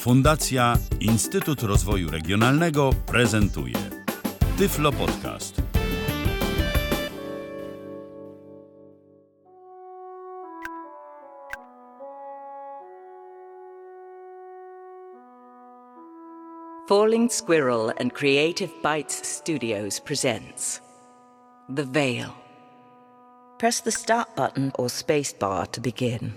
Fundacja Instytut Rozwoju Regionalnego prezentuje Tyflo Podcast. Falling Squirrel and Creative Bites Studios presents The Veil. Press the start button or spacebar to begin.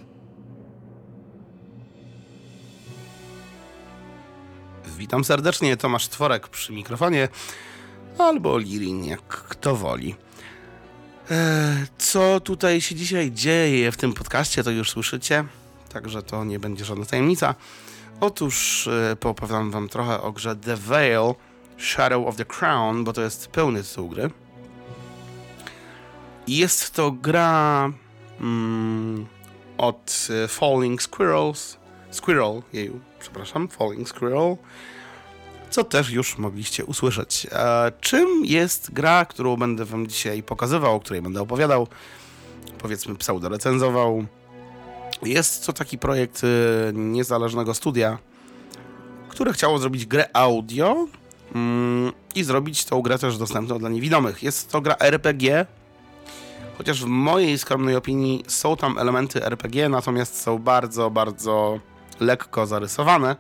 Witam serdecznie, Tomasz Tworek przy mikrofonie, albo Lirin, jak kto woli. Co tutaj się dzisiaj dzieje w tym podcaście, to już słyszycie, także to nie będzie żadna tajemnica. Otóż poopowiadam wam trochę o grze The Veil, Shadow of the Crown, bo to jest pełny tytuł gry. Jest to gra od Falling Squirrel, Falling Squirrel, co też już mogliście usłyszeć. Czym jest gra, którą będę wam dzisiaj pokazywał, o której będę opowiadał, powiedzmy pseudo-recenzował? Jest to taki projekt niezależnego studia, które chciało zrobić grę audio i zrobić tą grę też dostępną dla niewidomych. Jest to gra RPG, chociaż w mojej skromnej opinii są tam elementy RPG, natomiast są bardzo, bardzo lekko zarysowane,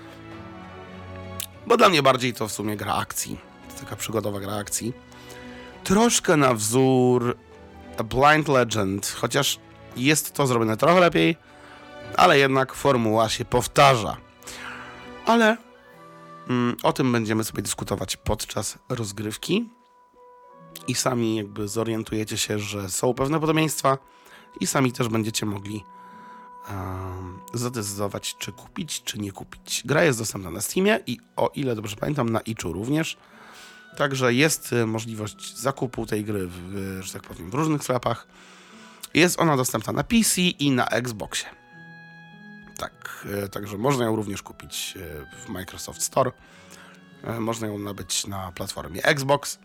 bo dla mnie bardziej to w sumie gra akcji. To taka przygodowa gra akcji. Troszkę na wzór A Blind Legend, chociaż jest to zrobione trochę lepiej, ale jednak formuła się powtarza. Ale o tym będziemy sobie dyskutować podczas rozgrywki i sami jakby zorientujecie się, że są pewne podobieństwa i sami też będziecie mogli zadecydować, czy kupić, czy nie kupić. Gra jest dostępna na Steamie i o ile dobrze pamiętam, na itchu również. Także jest możliwość zakupu tej gry że tak powiem, w różnych sklepach. Jest ona dostępna na PC i na Xboxie. Tak, także można ją również kupić w Microsoft Store. Można ją nabyć na platformie Xbox.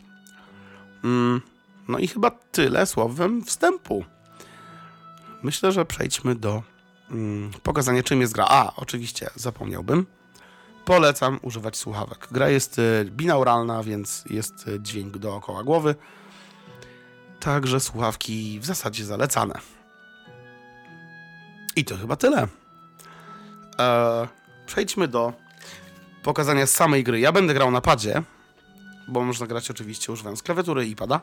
No i chyba tyle słowem wstępu. Myślę, że przejdźmy do pokazania, czym jest gra. Oczywiście zapomniałbym. Polecam używać słuchawek. Gra jest binauralna, więc jest dźwięk dookoła głowy. Także słuchawki w zasadzie zalecane. I to chyba tyle. Przejdźmy do pokazania samej gry. Ja będę grał na padzie, bo można grać oczywiście używając klawiatury i pada.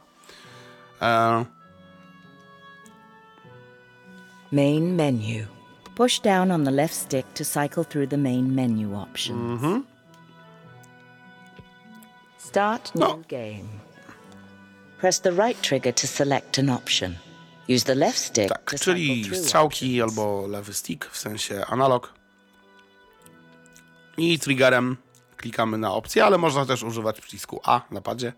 Main menu. Push down on the left stick to cycle through the main menu options. Start new game. Press the right trigger to select an option. Use the left stick Tak, to czyli cycle through strzałki options. albo lewy stick, w sensie analog. I triggerem klikamy na opcję, ale można też używać przycisku A na padzie.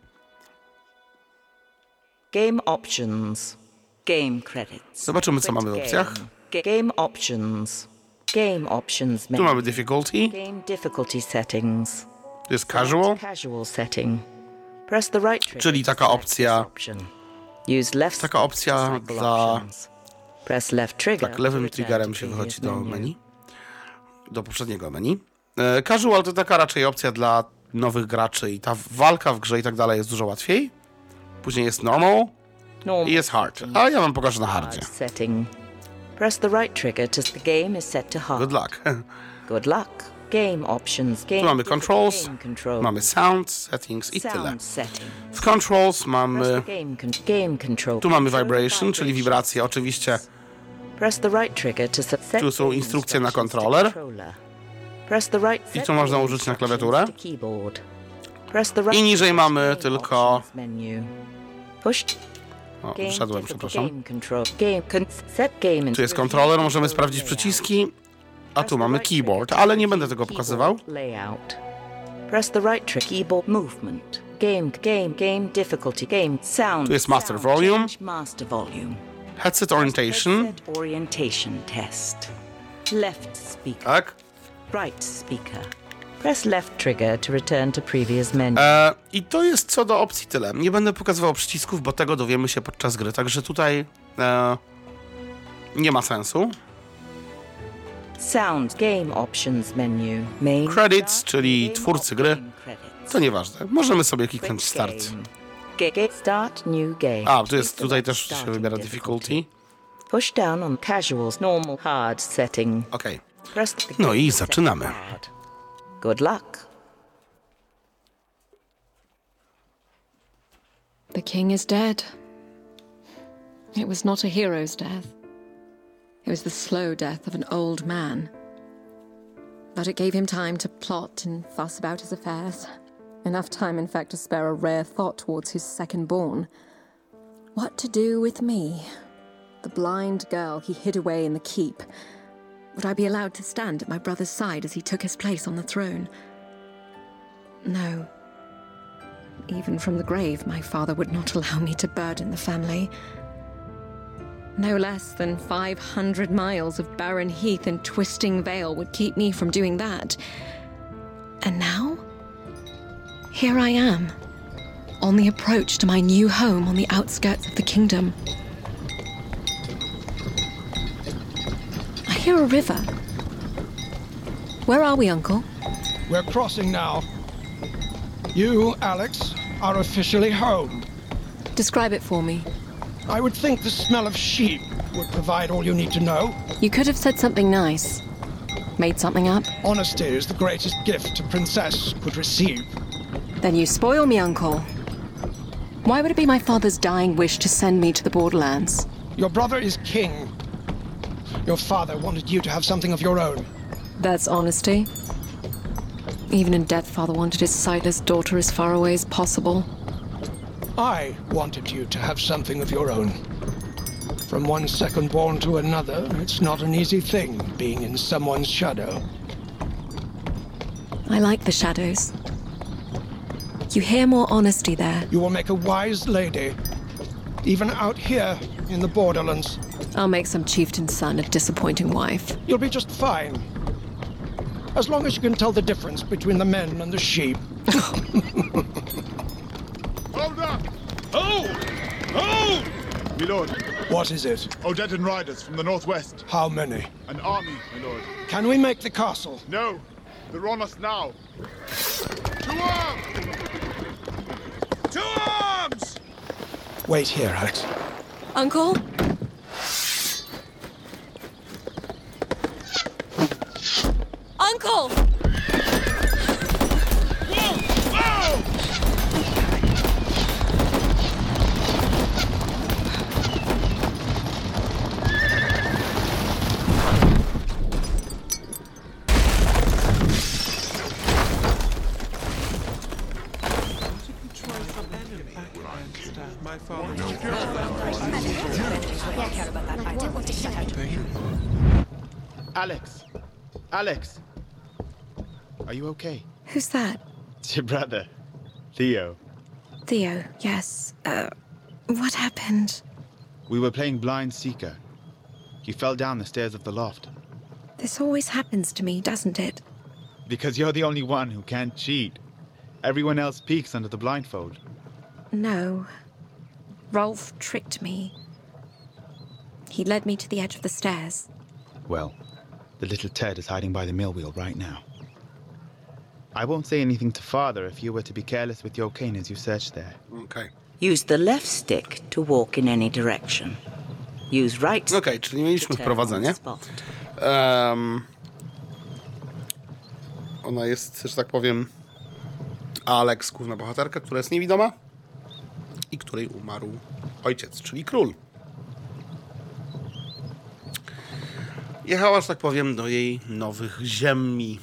Game options. Game credits. Zobaczymy, co Quit mamy w game. opcjach. Game options. Game options Tu menu. mamy difficulty, Game difficulty settings. to jest casual, Casual setting. Press the right trigger czyli to taka select opcja, this option. Use left taka opcja stick to cycle dla, options. Press left trigger tak, lewym to return triggerem to się previous wychodzi do menu, do poprzedniego menu. Casual to taka raczej opcja dla nowych graczy i ta walka w grze i tak dalej jest dużo łatwiej. Później jest normal i jest hard, a ja wam pokażę na hardzie. Setting. Press the right trigger to the game is set to hard. Good luck. Good luck. Game options. Game Tu mamy controls, game control. mamy sound, settings i tyle. Sound setting. W controls Press mamy, the game control. tu mamy vibration, czyli wibracje oczywiście. Press the right trigger to set Tu są game instrukcje na instructions to kontroler. controller. Press the right I set tu można game użyć na instructions klawiaturę. to keyboard. Press the right I niżej trigger mamy to game tylko- options menu. Push O, game wszedłem, difficult przepraszam. game control. Set game Tu jest kontroler, możemy sprawdzić przyciski, a tu mamy keyboard, ale nie będę tego pokazywał. Layout. Press the right trigger. Keyboard movement. Game difficulty. Game sound. Tu jest master sound volume. change, master volume. Headset orientation, Headset orientation test. Left speaker. tak. Right speaker. Press left trigger to return to previous menu. I to jest co do opcji tyle. Nie będę pokazywał przycisków, bo tego dowiemy się podczas gry, także tutaj nie ma sensu. Sound Game Options menu. Main Credits, start, czyli game twórcy gry. option credits. To nieważne. Możemy sobie kliknąć Quick start. game. Start new game. A, tu jest, tutaj Select też się starting wybiera difficulty. Push down on casual's normal hard setting. Okej. Press the No game i to set zaczynamy. hard. Good luck. The king is dead. It was not a hero's death. It was the slow death of an old man. But it gave him time to plot and fuss about his affairs. Enough time, in fact, to spare a rare thought towards his second-born. What to do with me? The blind girl he hid away in the keep. Would I be allowed to stand at my brother's side as he took his place on the throne? No. Even from the grave, my father would not allow me to burden the family. No less than 500 miles of barren heath and twisting vale would keep me from doing that. And now? Here I am, on the approach to my new home on the outskirts of the kingdom. I hear a river. Where are we, Uncle? We're crossing now. You, Alex, are officially home. Describe it for me. I would think the smell of sheep would provide all you need to know. You could have said something nice. Made something up. Honesty is the greatest gift a princess could receive. Then you spoil me, Uncle. Why would it be my father's dying wish to send me to the borderlands? Your brother is king. Your father wanted you to have something of your own. That's honesty. Even in death, father wanted his sightless daughter as far away as possible. I wanted you to have something of your own. From one second-born to another, it's not an easy thing being in someone's shadow. I like the shadows. You hear more honesty there. You will make a wise lady, even out here in the borderlands. I'll make some chieftain's son a disappointing wife. You'll be just fine. As long as you can tell the difference between the men and the sheep. Hold up! Hold! Hold! My lord, What is it? Odedan riders from the northwest. How many? An army, my lord. Can we make the castle? No, they're on us now. To arms! To arms! Wait here, Alex. Uncle? Uncle! Whoa! Whoa! Alex! Alex! Are you okay? Who's that? It's your brother, Theo. Theo, yes. What happened? We were playing Blind Seeker. You fell down the stairs of the loft. This always happens to me, doesn't it? Because you're the only one who can't cheat. Everyone else peeks under the blindfold. No. Rolf tricked me. He led me to the edge of the stairs. Well, the little Ted is hiding by the mill wheel right now. I won't say anything to Father if you were to be careless with your cane as you search there. Okej. Use the left stick to walk in any direction. Use right stick Okej, czyli mieliśmy to turn on wprowadzenie. spot. Ona jest, że tak powiem, Alex, główna bohaterka, która jest niewidoma i której umarł ojciec, czyli król. Jechała, że tak powiem, do jej nowych ziemi.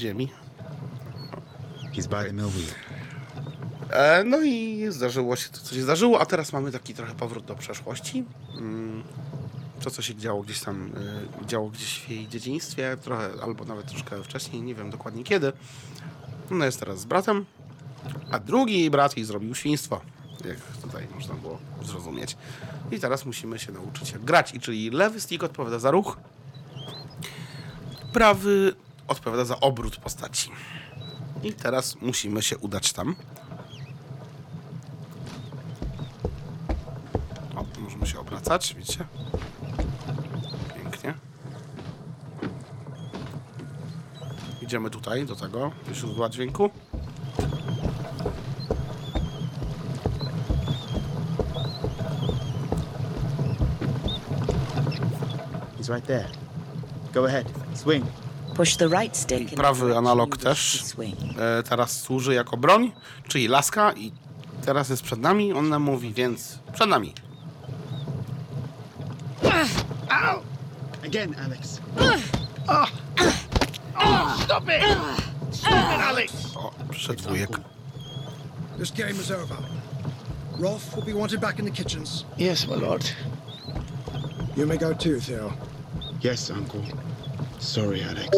He's by the mill wheel. No i zdarzyło się to, co się zdarzyło, a teraz mamy taki trochę powrót do przeszłości. To, co się działo gdzieś tam, działo gdzieś w jej dzieciństwie, trochę, albo nawet troszkę wcześniej, nie wiem dokładnie kiedy. Ona jest teraz z bratem, a drugi jej brat jej zrobił świństwo, jak tutaj można było zrozumieć. I teraz musimy się nauczyć jak grać, i czyli lewy stick odpowiada za ruch, prawy odpowiada za obrót postaci. I teraz musimy się udać tam. O, możemy się obracać, widzicie? Pięknie. Idziemy tutaj, do tego źródła dźwięku. He's right there. Go ahead. Swing. Push the right stick in the Prawy direction analog you wish też to swing. teraz służy jako broń, czyli laska i teraz jest przed nami, on nam mówi, więc przed nami. Again, Alex. Stop it! Stop it, Alex! O, przyszedł wujek. This game is over. Rolf will be wanted back in the kitchens. Yes, my lord. You may go too, Theo. Yes, Uncle. Sorry, Alex.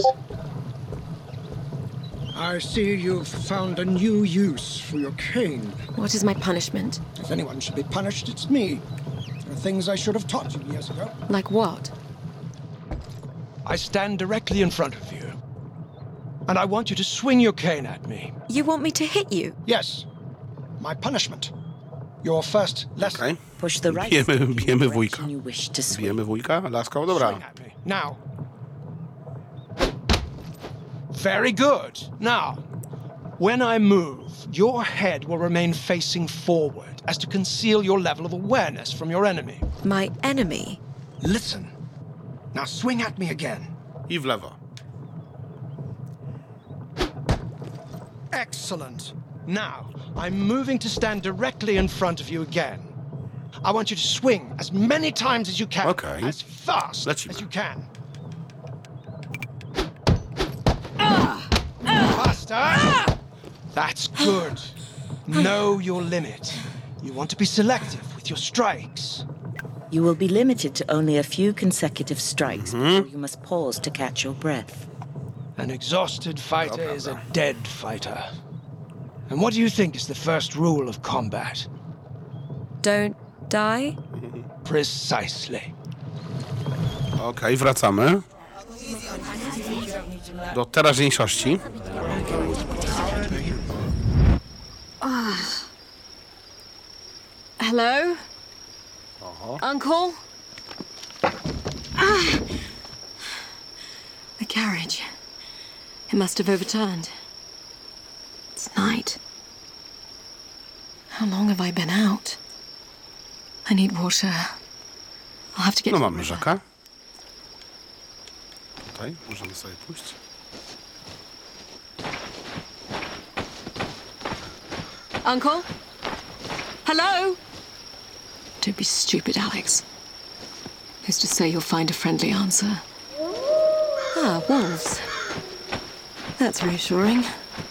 I see you've found a new use for your cane. What is my punishment? If anyone should be punished, it's me. There are things I should have taught you years ago. Like what? I stand directly in front of you, and I want you to swing your cane at me. You want me to hit you? Yes, my punishment. Your first lesson. Okej. Push the right Bijemy- stick in the bijemy direction wujka. you wish to swing. Bijemy wujka, laska, dobra. Swing at me. Now. Very good. Now, when I move, your head will remain facing forward as to conceal your level of awareness from your enemy. My enemy? Listen. Now swing at me again. I w lewo. Excellent. Now, I'm moving to stand directly in front of you again. I want you to swing as many times as you can, Okay. as fast Lecimy. as you can. Faster! That's good. Know your limit. You want to be selective with your strikes. You will be limited to only a few consecutive strikes before you must pause to catch your breath. An exhausted fighter is a dead fighter. And what do you think is the first rule of combat? Don't die? Precisely. Okej, wracamy do teraźniejszości. Hello? Uncle? The carriage. It must have overturned. It's night. How long have I been out? I need water. I'll have to get No to the mamy river. rzekę. Tutaj możemy sobie pójść. Uncle? Hello? Don't be stupid, Alex. Who's to say you'll find a friendly answer? Ah, wolves. That's reassuring.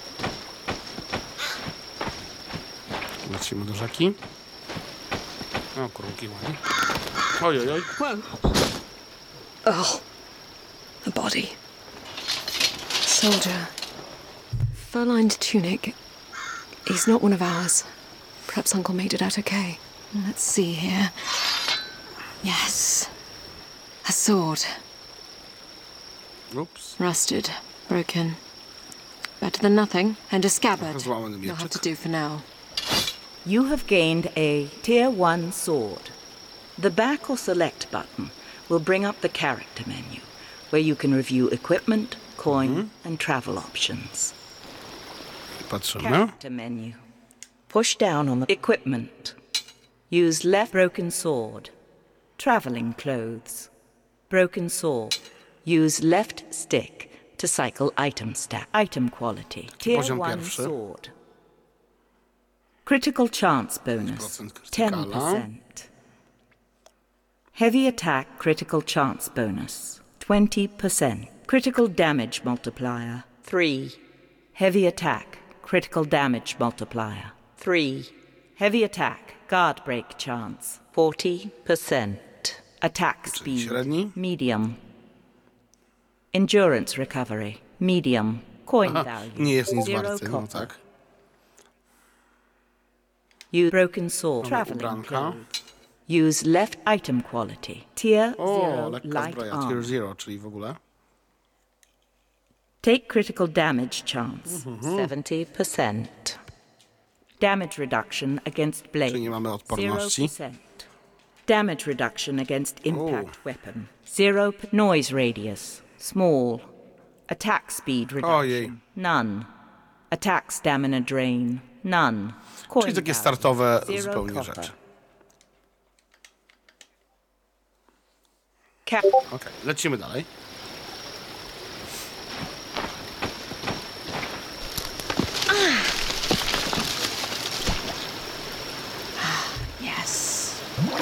Lecimy do rzeki. O, kurunki ładnie. Oj, oj, oj. Whoa. Oh, a body. Soldier. Fur-lined tunic. He's not one of ours. Perhaps Uncle made it out okay. Let's see here. Yes. A sword. Ups. Rusted. Broken. Better than nothing. And a scabbard. Złamany You'll have to mieczyk. do for now. You have gained a Tier 1 sword. The back or select button will bring up the character menu, where you can review equipment, coin, and travel options. Patrzymy. Character menu. Push down on the equipment. Use left broken sword. Traveling clothes. Broken sword. Use left stick to cycle item stack. Item quality. Tier poziom 1 pierwszy. sword. Critical chance bonus. 10% krytykala. 10%. Heavy attack critical chance bonus. 20%. Critical damage multiplier. 3. Heavy attack critical damage multiplier. 3. Heavy attack guard break chance. 40%. Attack speed. średni. Medium. Endurance recovery. Medium. Coin Aha, value. nie jest nic 0 warty, no copper. tak. Use broken sword. Mamy Traveling ubranka. clothes. Use left item quality. Tier O, 0 lekka light zbroja, armor. tier 0, czyli w ogóle. Take critical damage chance. 70%. Damage reduction against blade. Czyli nie mamy odporności. 0%. Damage reduction against impact weapon. 0 noise radius. Small. Attack speed reduction. Ojej. None. Attack stamina drain. None. Coin Czyli takie value, startowe 0 zupełnie copper. rzeczy. Okej, lecimy dalej. Yes.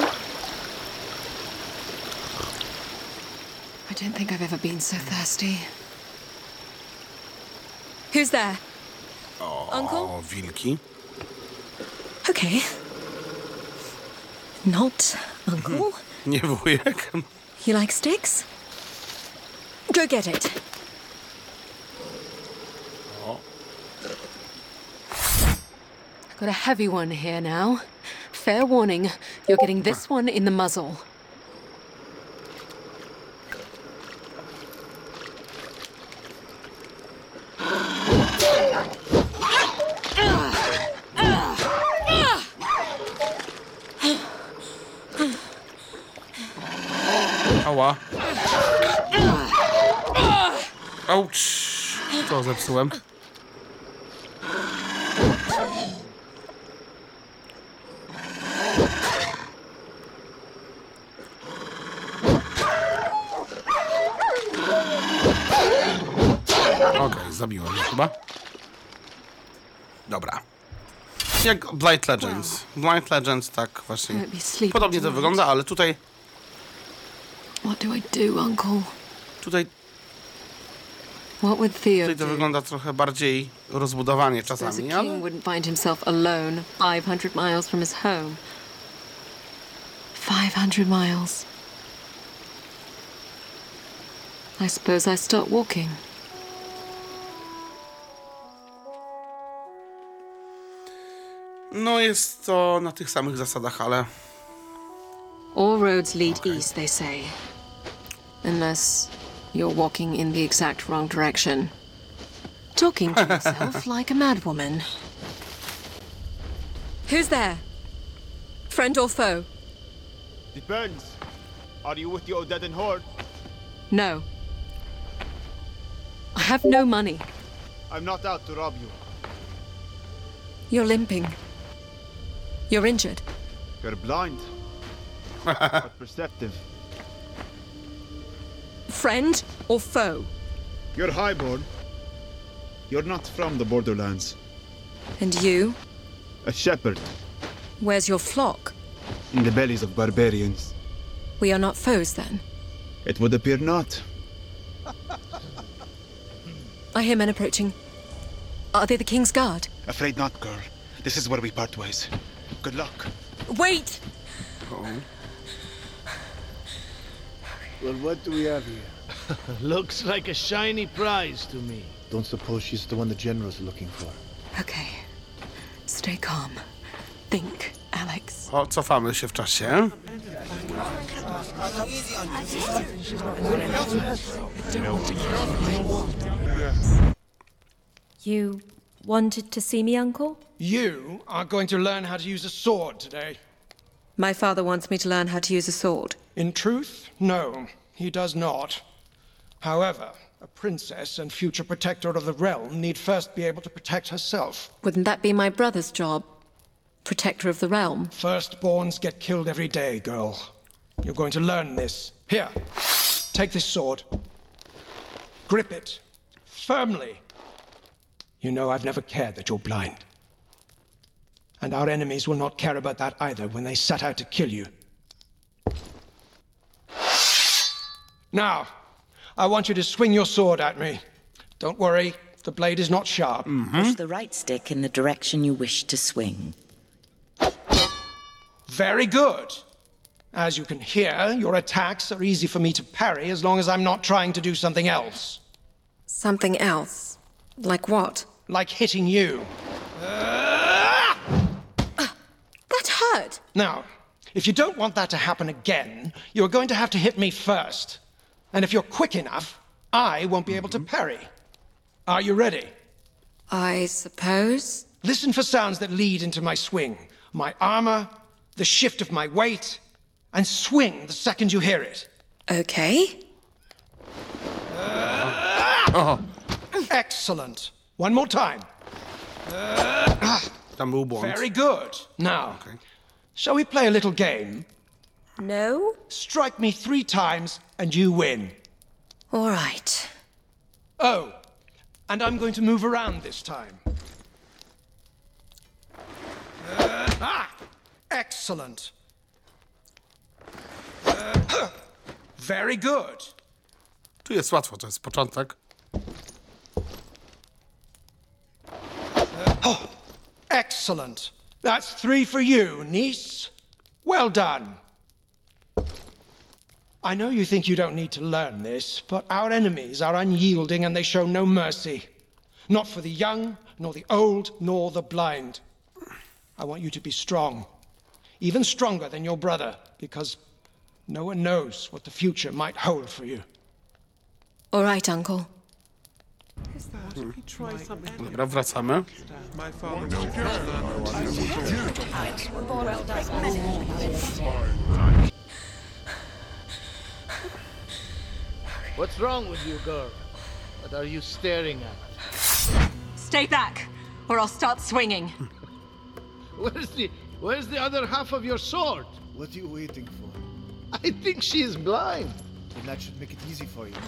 I don't think I've ever been so thirsty. Who's there? Uncle? O, wilki. Okay. Not Uncle. Nie wujek. You like sticks? Go get it. I've got a heavy one here now. Fair warning, you're getting this one in the muzzle. Ała. Auć. Co zepsułem? Okej, zabiłem je chyba. Dobra. Jak Blight Legends. Blight Legends tak właśnie. Won't be sleeping Podobnie to tonight. wygląda, ale tutaj What do I do, Uncle? Tutaj What would Theo to do? wygląda trochę bardziej rozbudowanie Suppose czasami, a ale king wouldn't find himself alone 500 miles from his home. 500 miles. I suppose I start walking. no jest to na tych samych zasadach, ale All roads lead east, they say. Unless you're walking in the exact wrong direction. Talking to yourself like a madwoman. Who's there? Friend or foe? Depends. Are you with the Odedan horde? No. I have no money. I'm not out to rob you. You're limping. You're injured. You're blind. But perceptive. Friend or foe? You're highborn. You're not from the borderlands. And you? A shepherd Where's your flock? in the bellies of barbarians. We are not foes then. It would appear not. I hear men approaching. Are they the King's Guard? Afraid not, girl. This is where we part ways. Good luck. Wait! Well, what do we have here? Looks like a shiny prize to me. Don't suppose she's the one the general's looking for. Okay. Stay calm. Think, Alex. o, cofamy się w czasie. You wanted to see me, Uncle? You are going to learn how to use a sword today. My father wants me to learn how to use a sword. In truth, no, he does not. However, a princess and future protector of the realm need first be able to protect herself. Wouldn't that be my brother's job? Protector of the realm. Firstborns get killed every day, girl. You're going to learn this. Here, take this sword. Grip it firmly. You know I've never cared that you're blind. And our enemies will not care about that either when they set out to kill you. Now, I want you to swing your sword at me. Don't worry, the blade is not sharp. Push the right stick in the direction you wish to swing. Very good. As you can hear, your attacks are easy for me to parry as long as I'm not trying to do something else. Something else? Like what? Like hitting you. That hurt! Now, if you don't want that to happen again, you're going to have to hit me first. And if you're quick enough, I won't be able to parry. Are you ready? I suppose? Listen for sounds that lead into my swing. My armor, the shift of my weight, and swing the second you hear it. Okay. O, Excellent. One more time. tam był błąd. Very good. Now, shall we play a little game? No? Strike me 3 times and you win. All right. Oh, and I'm going to move around this time. Excellent. Very good. Tu jest łatwo, to jest początek. Excellent. That's 3 for you, niece. Well done. I know you think you don't need to learn this, but our enemies are unyielding and they show no mercy. Not for the young, nor the old, nor the blind. I want you to be strong. Even stronger than your brother, because no one knows what the future might hold for you. All right, Uncle. Dobra, wracamy. What's wrong with you, girl? What are you staring at? Stay back, or I'll start swinging. Where's the other half of your sword? What are you waiting for? I think she is blind. Then that should make it easy for you.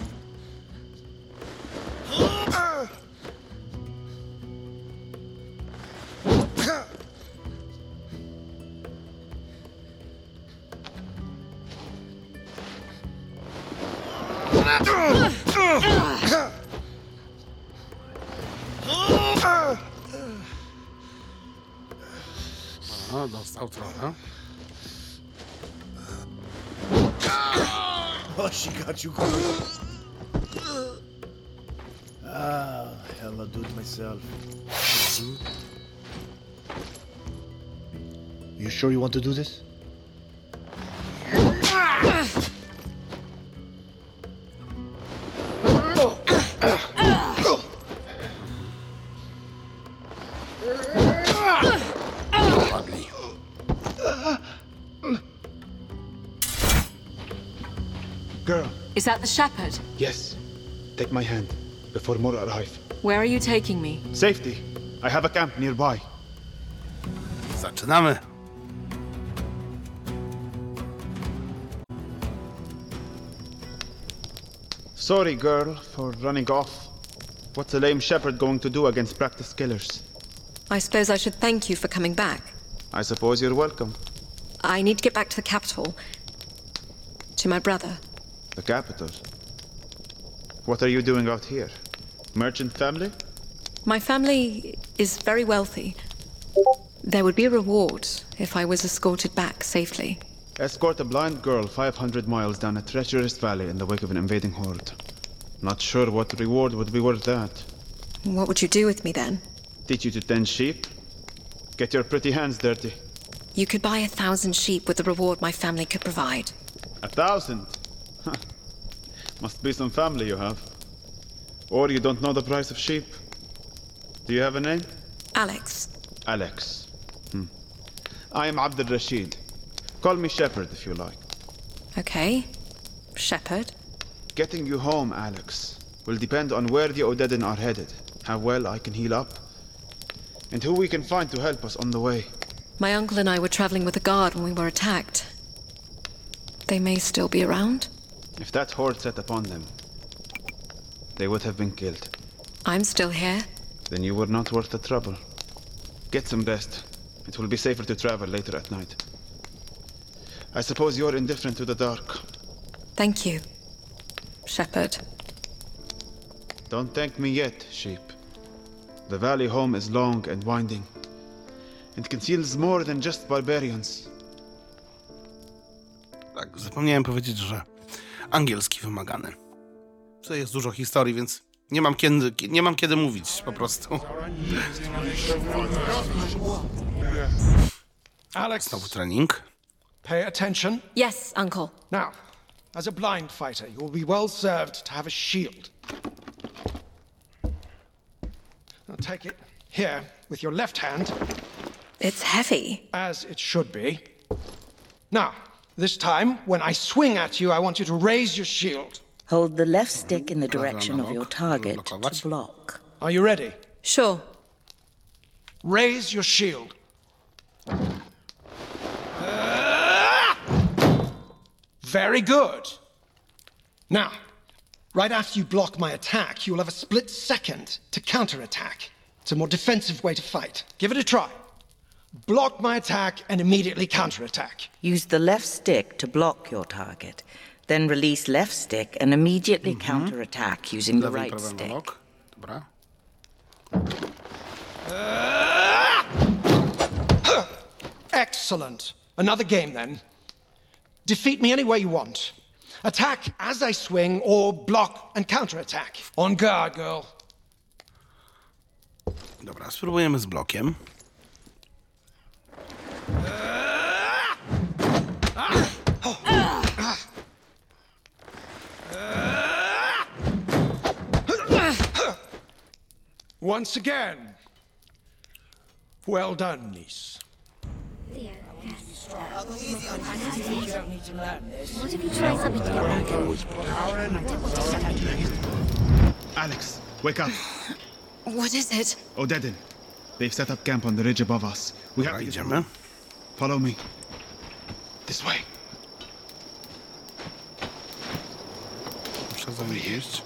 O, dostał trochę. Oh, she got you good. Hell, I'll do it myself. You sure you want to do this? Ładnie. Girl. Is that the shepherd? Yes. Take my hand before more arrive. Where are you taking me? Safety. I have a camp nearby. Zaczynamy. Sorry, girl, for running off. What's a lame shepherd going to do against practiced killers? I suppose I should thank you for coming back. I suppose you're welcome. I need to get back to the capital. To my brother. The capital. What are you doing out here? Merchant family? My family is very wealthy. There would be a reward if I was escorted back safely. Escort a blind girl 500 miles down a treacherous valley in the wake of an invading horde. Not sure what reward would be worth that. What would you do with me then? Teach you to tend sheep? Get your pretty hands dirty. You could buy 1,000 sheep with the reward my family could provide. 1,000? Must be some family you have. Or you don't know the price of sheep. Do you have a name? Alex. Alex. I am Abd al-Rashid. Call me Shepherd if you like. Okay. Shepherd. Getting you home, Alex, will depend on where the Odedin are headed, how well I can heal up, and who we can find to help us on the way. My uncle and I were traveling with a guard when we were attacked. They may still be around. If that horde set upon them, they would have been killed. I'm still here. Then you were not worth the trouble. Get some rest. It will be safer to travel later at night. I suppose you're indifferent to the dark. Thank you, Shepherd. Don't thank me yet, sheep. The valley home is long and winding, and conceals more than just barbarians. Tak, zapomniałem powiedzieć, że angielski wymagany. Tutaj jest dużo historii, więc nie mam kiedy mówić po prostu. Alex, Znowu trening. pay attention. Yes, Uncle. Now, as a blind fighter, you will be well served to have a shield. Now take it here with your left hand, It's heavy. as it should be. Now, this time, when I swing at you, I want you to raise your shield. Hold the left stick in the direction of your target to block. Are you ready? Sure. Raise your shield. Very good. Now, right after you block my attack, you will have a split second to counterattack. It's a more defensive way to fight. Give it a try. Block my attack and immediately counterattack. Use the left stick to block your target. Then release left stick and immediately counterattack using the right stick. Dobra. Excellent. Another game then. Defeat me any way you want. Attack as I swing or block and counterattack. On guard, girl. Dobra, spróbujemy z blokiem. Once again. Well done, niece. What if you try something to Alex, wake up. What is it? Odedin. They've set up camp on the ridge above us. We have to get Idziemy. Follow me. This way. Muszę za nim iść.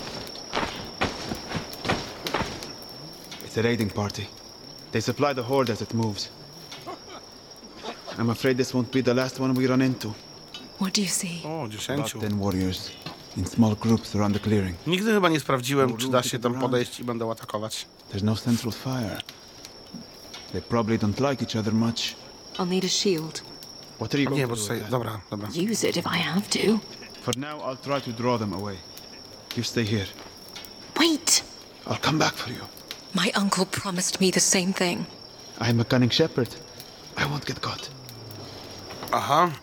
It's a raiding party. They supply the horde as it moves. I'm afraid this won't be the last one we run into. What do you see? O, About 10. 10 warriors in small groups around the clearing. Nigdy chyba nie sprawdziłem, czy da się tam podejść i będą atakować. There's no central fire. They probably don't like each other much. I'll need a shield. What are you going Nie, to bo do tutaj... with that? Dobra, dobra. Use it if I have to. For now, I'll try to draw them away. You stay here. Wait! I'll come back for you. My uncle promised me the same thing. I'm a cunning shepherd. I won't get caught. Aha.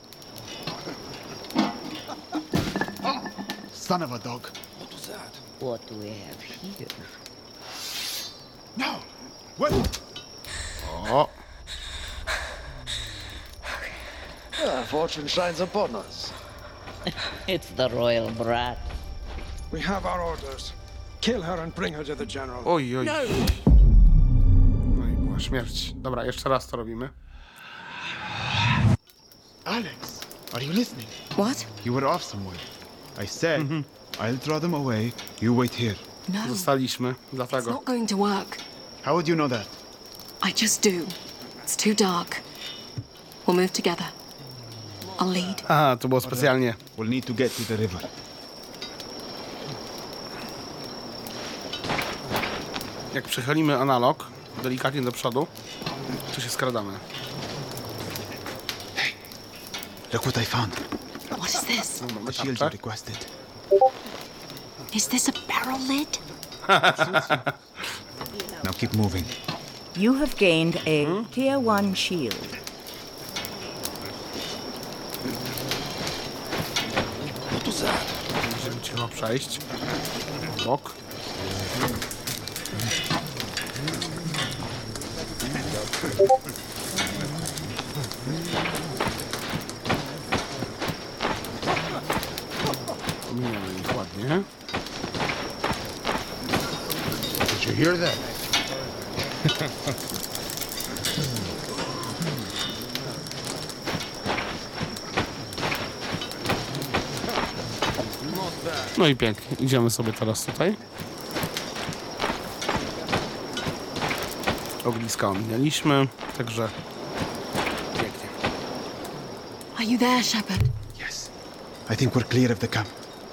Son of a dog. What was that? What do we have here? No! Wait! O, Fortune shines upon us. It's the royal brat. We have our orders. Kill her and bring her to the general. oj, oj. No i była śmierć. Dobra, jeszcze raz to robimy. Alex, are you listening? What? You were off somewhere. I said, I'll draw them away. You wait here. No. Zostaliśmy, It's dlatego. not going to work. How would you know that? I just do. It's too dark. We'll move together. I'll lead. Aha, to było specjalnie. We'll need to get to the river. Jak przechylimy analog delikatnie do przodu, to się skradamy. Look what I found. What is this? The shield you requested. Is this a barrel lid? Now keep moving. You have gained a Tier 1 shield. What was that? Będziemy trzeba przejść. W bok. Minęły ich ładnie. Did you hear that? No i pięknie. Idziemy sobie teraz tutaj. Ogniska ominęliśmy, także pięknie. Are you there, Shepard? Yes. I think we're clear of the camp.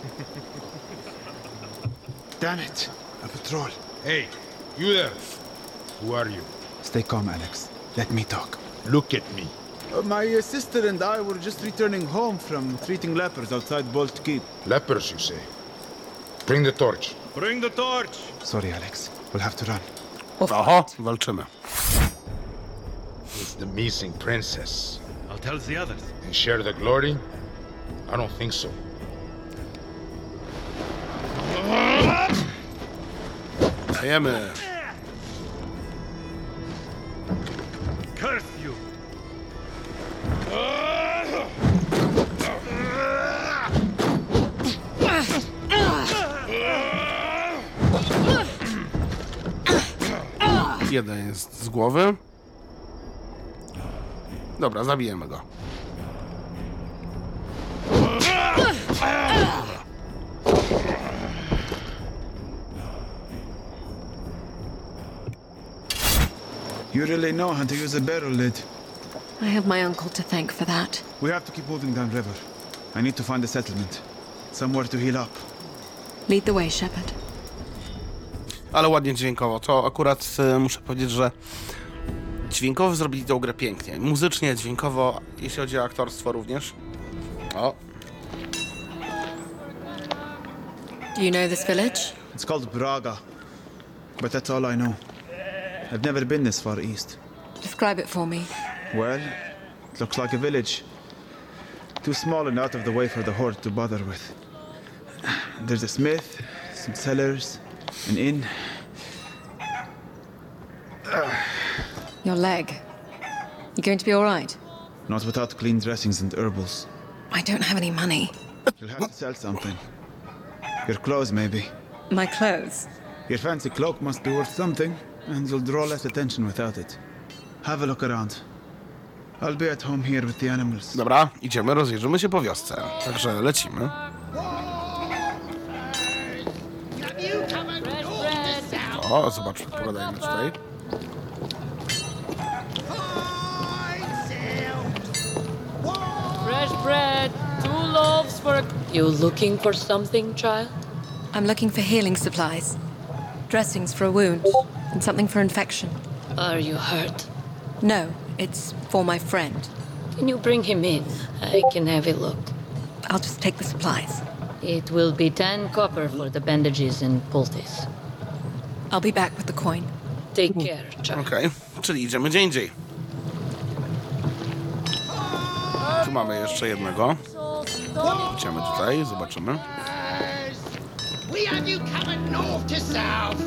Damn it. A patrol. Hey, you there. Who are you? Stay calm, Alex. Let me talk. Look at me. My sister and I were just returning home from treating lepers outside Bolt Keep. Lepers, you say? Bring the torch. Bring the torch! Sorry, Alex. We'll have to run. Oho, walczymy. It's the missing princess. I'll tell the others. And share the glory? I don't think so. Dajemy. Curse you! Jeden jest z głowy. Dobra, zabijemy go. You really know how to use a barrel lid. I have my uncle to thank for that. We have to keep moving downriver. I need to find a settlement. Somewhere to heal up. Lead the way, Shepard. Ale ładnie dźwiękowo. To akurat muszę powiedzieć, że dźwiękowo zrobili tę grę pięknie. Muzycznie, dźwiękowo, jeśli chodzi o aktorstwo również. O. Do you know this village? It's called Braga. But that's all I know. I've never been this far east. Describe it for me. Well, it looks like a village. Too small and out of the way for the horde to bother with. There's a smith, some cellars, an inn. Your leg. You going to be all right? Not without clean dressings and herbals. I don't have any money. You'll have to sell something. Your clothes, maybe. My clothes? Your fancy cloak must be worth something, and you'll draw less attention without it. Have a look around. I'll be at home here with the animals. Dobra, idziemy, rozejrzymy się po wiosce. Także lecimy. O, zobaczmy, pogadajmy tutaj. Fresh bread, 2 loaves for a... You looking for something, child? I'm looking for healing supplies. Dressings for a wound, and something for infection. Are you hurt? No, it's for my friend. Can you bring him in? I can have a look. I'll just take the supplies. It will be 10 copper for the bandages and poultice. I'll be back with the coin. Take care, child. Okej, czyli idziemy gdzie indziej. Tu mamy jeszcze jednego. Idziemy tutaj, zobaczymy. We have you coming north to south.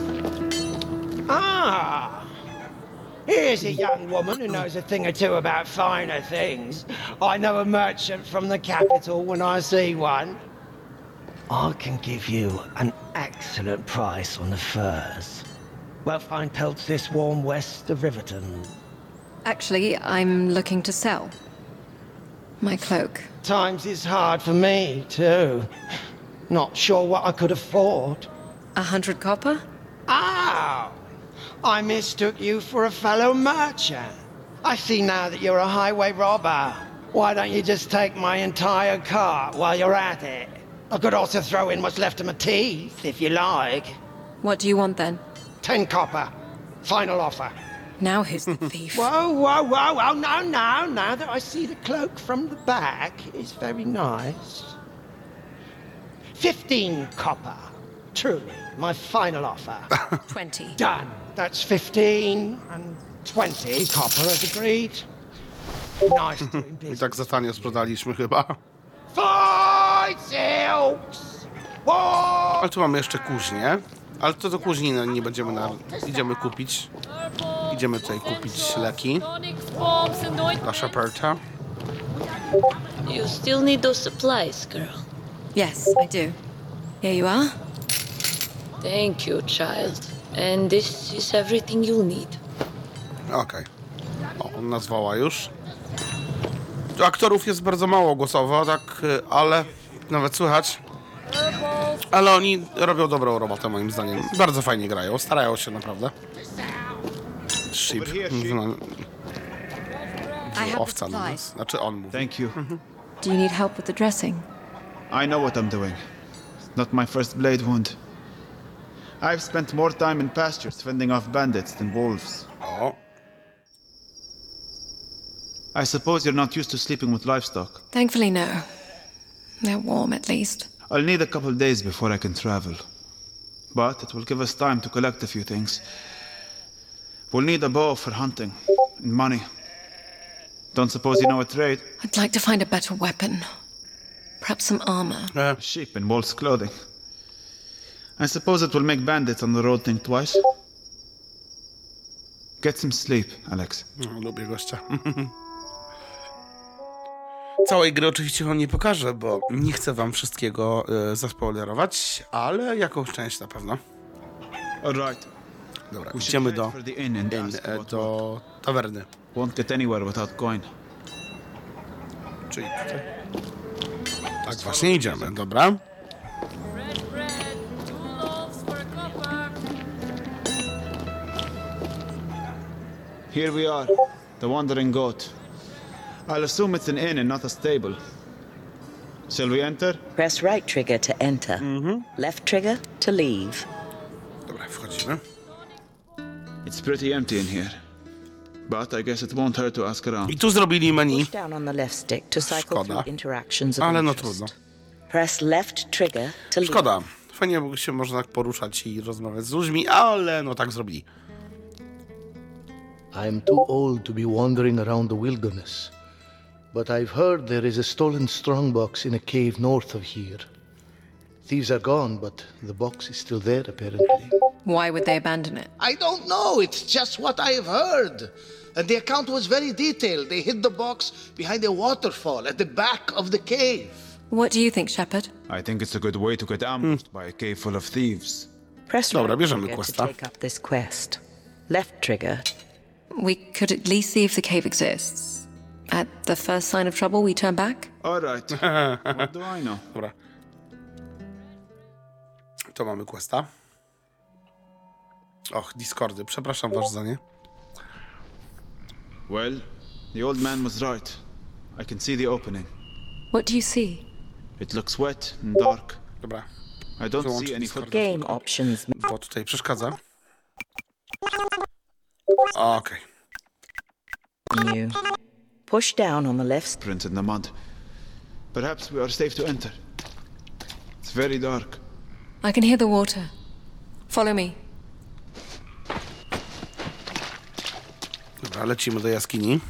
Ah, here's a young woman who knows a thing or two about finer things. I know a merchant from the capital when I see one. I can give you an excellent price on the furs. Well, fine pelts this warm west of Riverton. Actually, I'm looking to sell my cloak. Times is hard for me, too. Not sure what I could afford. 100 copper? Oh! I mistook you for a fellow merchant. I see now that you're a highway robber. Why don't you just take my entire cart while you're at it? I could also throw in what's left of my teeth, if you like. What do you want, then? 10 copper. Final offer. Now who's the thief? Whoa, whoa, whoa, whoa, no, no. Now that I see the cloak from the back, it's very nice. 15 copper. Truly, my final offer. 20. Done. That's 15 and 20 copper as agreed. Nice doing I business. tak za tanio sprzedaliśmy chyba. Fight silks! Whoa! Ale tu mamy jeszcze kuźnię. Ale to do kuźni nie będziemy idziemy kupić. Idziemy tutaj kupić leki dla Sheparda. You still need those supplies, girl. Yes, I do. Here you are. Thank you, child. And this is everything you'll need. Okej. O, on nazwała już. Tu aktorów jest bardzo mało głosowo, tak, ale nawet słychać. Ale oni robią dobrą robotę, moim zdaniem. Bardzo fajnie grają, starają się naprawdę. Sheep. Owca na nas. Znaczy on mówi. Thank you. Do you need help with the dressing? I know what I'm doing. Not my first blade wound. I've spent more time in pastures fending off bandits than wolves. O. I suppose you're not used to sleeping with livestock. Thankfully, no. They're warm, at least. I'll need a couple days before I can travel. But it will give us time to collect a few things. We'll need a bow for hunting, and money. Don't suppose you know a trade? I'd like to find a better weapon. Perhaps some armor. Sheep in wolf's clothing. I suppose it will make bandits on the road think twice. Get some sleep, Alex. No, lubię gościa. Całej gry oczywiście wam nie pokażę, bo nie chcę wam wszystkiego zaspoilerować, ale jakąś część na pewno. Alright. Dobra, idziemy do tawerny. Won't get anywhere without coin. Czyli tutaj. Tak właśnie idziemy, dobra. Here we are, the Wandering Goat. I'll assume it's an inn and not a stable. Shall we enter? Press right trigger to enter. Left trigger to leave. Dobra, wchodzimy. It's pretty empty in here. But I guess it won't hurt to ask around. I tu zrobili menu. Push down on the left stick to cycle Szkoda. through interactions of Ale no interest. trudno. Press left trigger to leave. Szkoda. Fajnie, bo się można tak poruszać i rozmawiać z ludźmi, ale no tak zrobili. I'm too old to be wandering around the wilderness, but I've heard there is a stolen strongbox in a cave north of here. Thieves are gone, but the box is still there, apparently. Why would they abandon it? I don't know. It's just what I have heard. And the account was very detailed. They hid the box behind a waterfall at the back of the cave. What do you think, Shepard? I think it's a good way to get ambushed by a cave full of thieves. Press Dobra, right bierzemy trigger to questa. take up this quest. Left trigger. We could at least see if the cave exists. At the first sign of trouble, we turn back? All right. What do I know? Dobra. To mamy questa. Och, Discordy, przepraszam was za nie. Well, the old man was right. I can see the opening. What do you see? It looks wet and dark. Dobra. I don't Wyłączę see any Discorda. footprints. Game options. Bo tutaj przeszkadza. Okej. Menu. Push down on the left. Prints in the mud. Perhaps we are safe to enter. It's very dark. I can hear the water. Follow me. Dobra, lecimy do jaskini.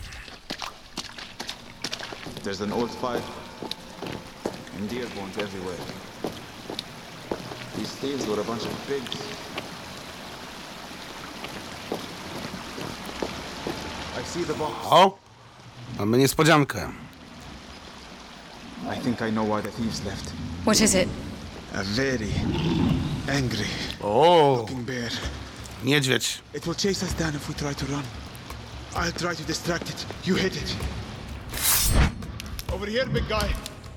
There's an old fire. And deer bones everywhere. These thieves were a bunch of pigs. I see the box. O! Mamy niespodziankę. I think I know why the thieves left. What is it? A very angry looking bear. Niedźwiedź. It will chase us down if we try to run. I'll try to distract it. You hit it. Over here, big guy.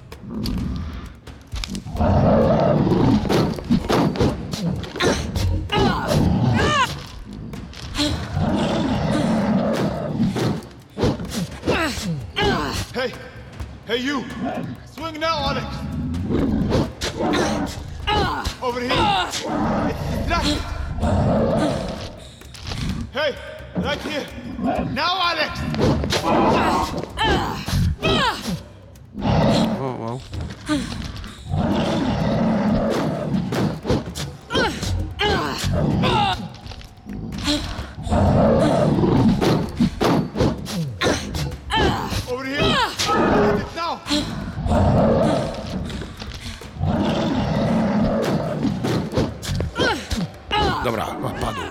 Hey! Hey, you! Swing now, Alex! Over here! It's distracted! Hey! Right here! Now, Alex! O, wow. Over here! Hit it now! Dobra, padł.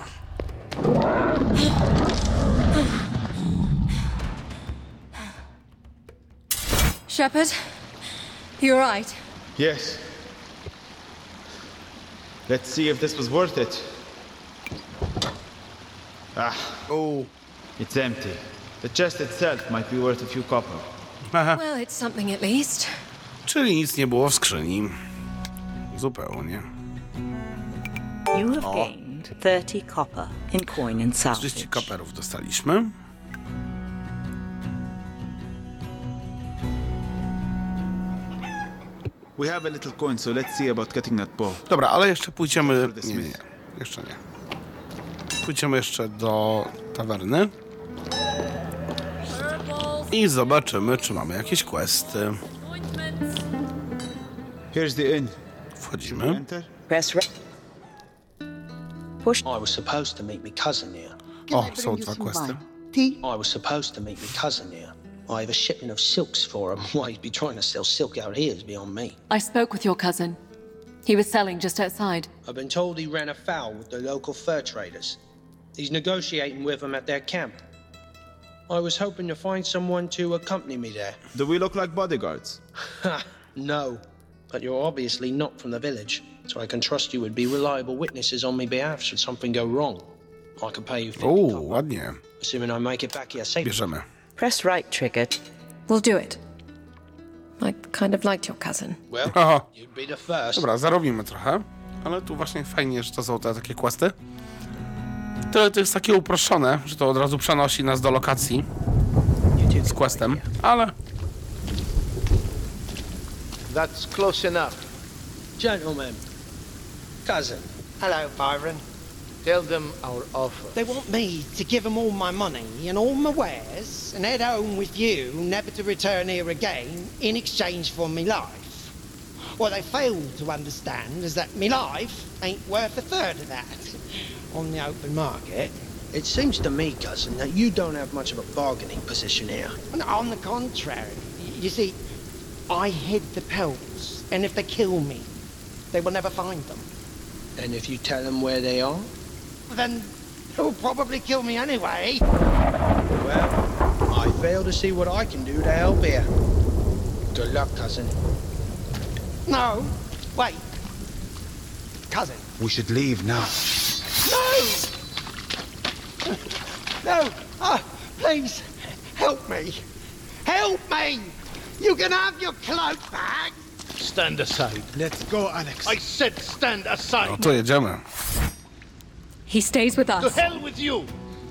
Shepard? You all right? Yes. Let's see if this was worth it. Ah. Oh. It's empty. The chest itself might be worth a few copper. Well, it's something at least. Czyli nic nie było w skrzyni. Zupełnie. You have gained 30 copper in coin and 30 salvage. kaperów dostaliśmy. We have a little coin, so let's see about getting that bow. Dobra, ale jeszcze pójdziemy... Nie. Jeszcze nie. Pójdziemy jeszcze do tawerny. I zobaczymy, czy mamy jakieś questy. Here's the inn. Wchodzimy. Press push. I was supposed to meet my cousin here. O, są dwa questy. I was supposed to meet my cousin here. I have a shipment of silks for him. Why he'd be trying to sell silk out here is beyond me. I spoke with your cousin. He was selling just outside. I've been told he ran afoul with the local fur traders. He's negotiating with them at their camp. I was hoping to find someone to accompany me there. Do we look like bodyguards? Ha! No. But you're obviously not from the village, so I can trust you would be reliable witnesses on my behalf should something go wrong. I can pay you 50 Uuu, copper, ładnie. assuming I make it back here safely. Bierzemy. Press right trigger. We'll do it. I kind of liked your cousin. Well, Aha. you'd be the first. Dobra, zarobimy trochę. Ale tu właśnie fajnie, że to są te takie questy. To jest takie uproszczone, że to od razu przenosi nas do lokacji z questem, ale... That's close enough. Gentlemen, cousin. Hello, Byron. Tell them our offer. They want me to give them all my money and all my wares and head home with you, never to return here again, in exchange for me life. What they fail to understand is that me life ain't worth a third of that on the open market. It seems to me, cousin, that you don't have much of a bargaining position here. On the contrary, you see, I hid the pelts, and if they kill me, they will never find them. And if you tell them where they are? Then they'll probably kill me anyway. Well, I fail to see what I can do to help here. Good luck, cousin. No, wait. Cousin. We should leave now. No! No! Please, help me. Help me! You can have your cloak back! Stand aside. Let's go, Alex. I said stand aside. No to jedziemy. He stays with us. To hell with you!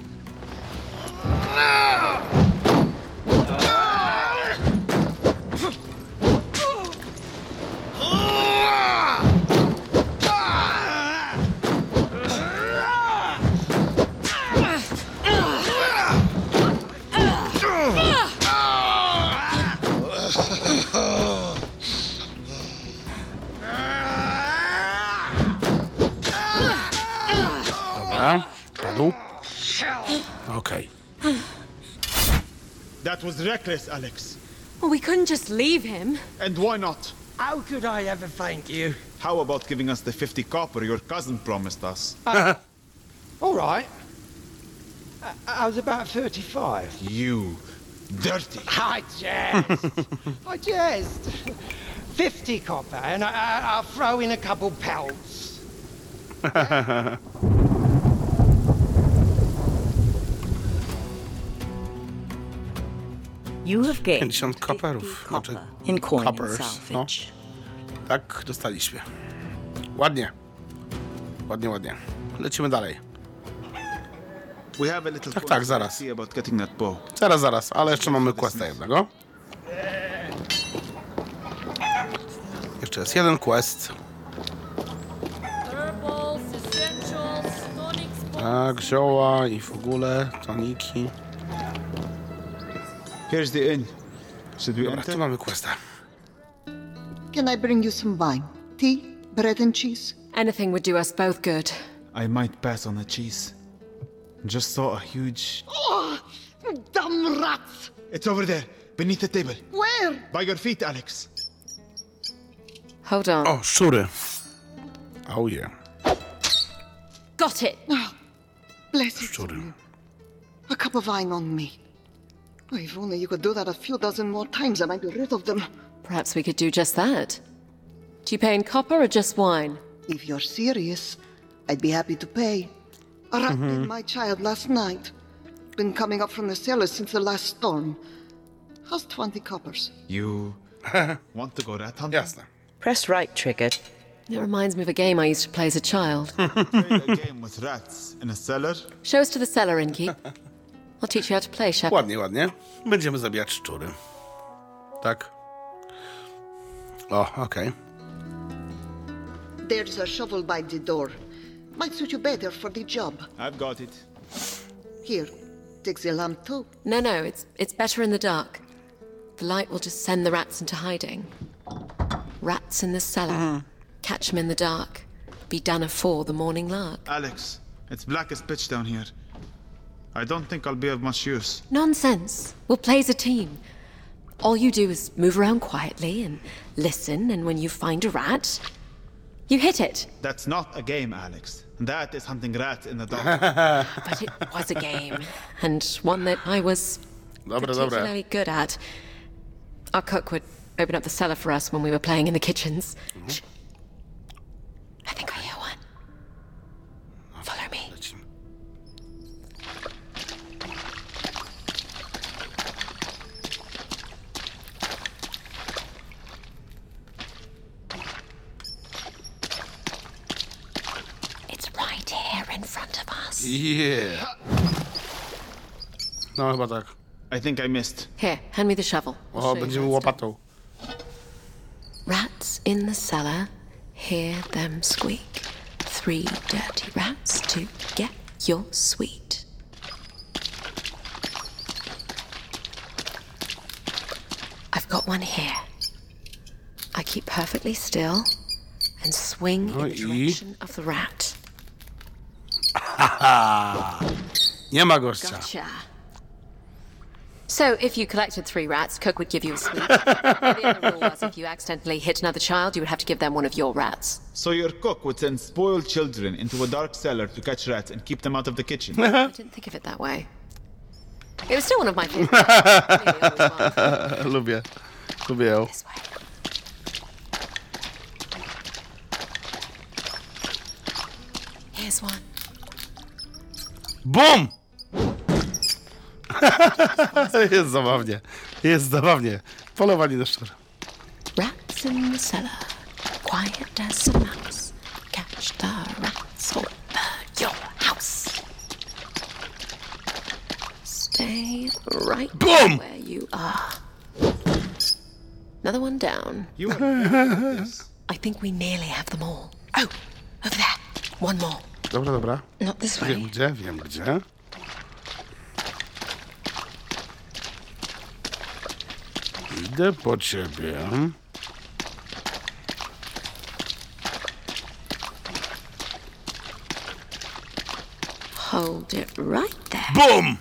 Dobra, padł. Okej. That was reckless, Alex. Well, we couldn't just leave him. And why not? How could I ever thank you? How about giving us the 50 copper your cousin promised us? All right. I was about 35. You dirty. I jest. I jest. 50 copper, and I'll throw in a couple pelts. You have gained 50 koperów. copper Znaczy, in coin and coppers, no. salvage. Tak, dostaliśmy. Ładnie. Ładnie, ładnie. Lecimy dalej. We have a little Tak, zaraz. see about getting that bow. Zaraz, ale jeszcze mamy questa jednego. Jeszcze jest jeden quest. Tak, zioła i w ogóle toniki. Here's the inn. Should we Dobra, enter? tu mamy questa. Can I bring you some wine? Tea? Bread and cheese? Anything would do us both good. I might pass on the cheese. Just saw a huge... Oh, damn rats! It's over there, beneath the table. Where? By your feet, Alex. Hold on. O, szczury. Oh yeah. Got it. Oh, bless you. Szczury. A cup of wine on me. Oh, if only you could do that a few dozen more times, I might be rid of them. Perhaps we could do just that. Do you pay in copper or just wine? If you're serious, I'd be happy to pay. A rat bit my child last night. Been coming up from the cellar since the last storm. How's 20 coppers? You want to go rat hunting? Jasne. Press right trigger. It reminds me of a game I used to play as a child. Played a game with rats in a cellar? Show us to the cellar, Inky. I'll teach you how to play, Shep. Ładnie, ładnie. Będziemy zabijać szczury. Tak. O, okej. There's a shovel by the door. Might suit you better for the job. I've got it. Here, take the lamp too. No, it's better in the dark. The light will just send the rats into hiding. Rats in the cellar. Catch them in the dark. Be done afore the morning lark. Alex, it's black as pitch down here. I don't think I'll be of much use. Nonsense. We'll play as a team. All you do is move around quietly and listen, and when you find a rat, you hit it. That's not a game, Alex. That is hunting rats in the dark. But it was a game, and one that I was particularly good at. Our cook would open up the cellar for us when we were playing in the kitchens. Shh. I think I hear one. Follow me. Yeah. No chyba tak. I think I missed. Here, hand me the shovel. O, będziemy łopatą. Rats in the cellar, hear them squeak. 3 dirty rats to get your sweet. I've got one here. I keep perfectly still and swing in the direction of the rat. Nie ma gościa. Gotcha. So, if you collected 3 rats, Cook would give you a sweet. The other rule was if you accidentally hit another child, you would have to give them one of your rats. So your cook would send spoiled children into a dark cellar to catch rats and keep them out of the kitchen. I didn't think of it that way. It was still one of my favorites. Lubię. Lubię ją. This way. Here's one. BUM! Jest zabawnie. Jest zabawnie. Polowanie na szczura. Rats in the cellar, quiet as a mouse. Catch the rats or burn your house. Stay right where you are. Another one down. You are this. I think we nearly have them all. Oh, over there. One more. Dobra, dobra. Not this way. Wiem gdzie. Idę po ciebie. Hold it right there. BUM!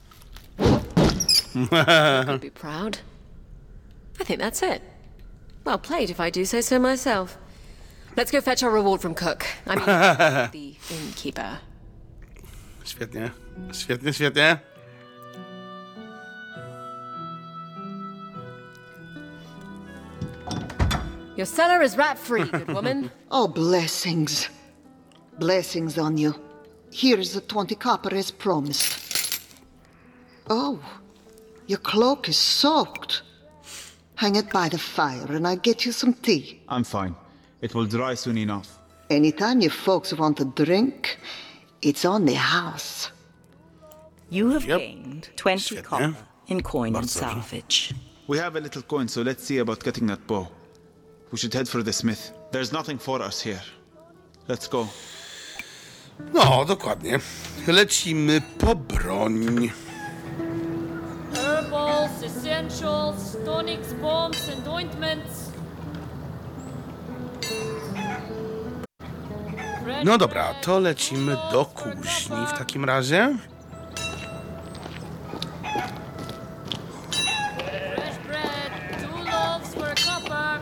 I'd be proud. I think that's it. Well played, if I do say so myself. Let's go fetch our reward from Cook. I mean, the innkeeper. Świetnie. Świetnie, świetnie. Your cellar is rat-free, good woman. Oh, blessings. Blessings on you. Here's the 20 copper as promised. Oh, your cloak is soaked. Hang it by the fire and I'll get you some tea. I'm fine. It will dry soon enough. Anytime you folks want a drink, it's on the house. You have gained 20 copper in coin and Bardzo salvage. We have a little coin, so let's see about getting that bow. We should head for the smith. There's nothing for us here. Let's go. No, dokładnie. Lecimy po broń. Herbals, essentials, tonics, bombs, and ointments. No dobra, to lecimy do kuźni w takim razie. Fresh bread, 2 loaves for a copper.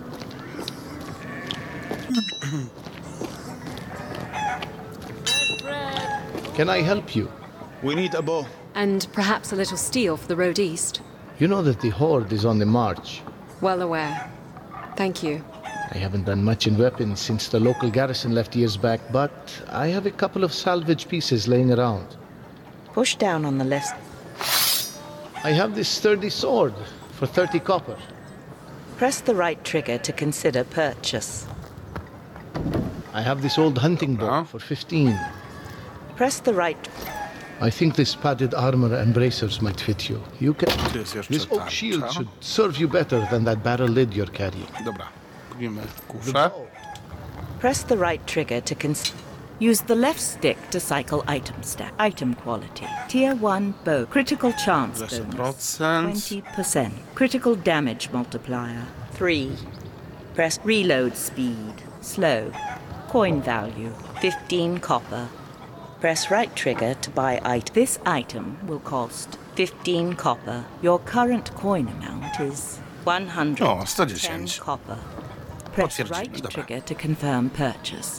Fresh bread. Can I help you? We need a bow. And perhaps a little steel for the road east. You know that the Horde is on the march. Well aware. Thank you. I haven't done much in weapons since the local garrison left years back, but I have a couple of salvage pieces laying around. Push down on the left. I have this sturdy sword for 30 copper. Press the right trigger to consider purchase. I have this old hunting bow for 15. Press the right. I think this padded armor and bracers might fit you. You can. Tu jest jeszcze This oak tarcza. shield should serve you better than that barrel lid you're carrying. Dobra, robimy kuszę. Press the right trigger to use the left stick to cycle item stack. Item quality. Tier 1 bow. Critical chance bonus. 20%. Critical damage multiplier. 3. Press reload speed. Slow. Coin value. 15 copper. Press right trigger to buy item. This item will cost 15 copper. Your current coin amount is 110 O, 110. copper. Press Potwierdzimy, right dobra. trigger to confirm purchase.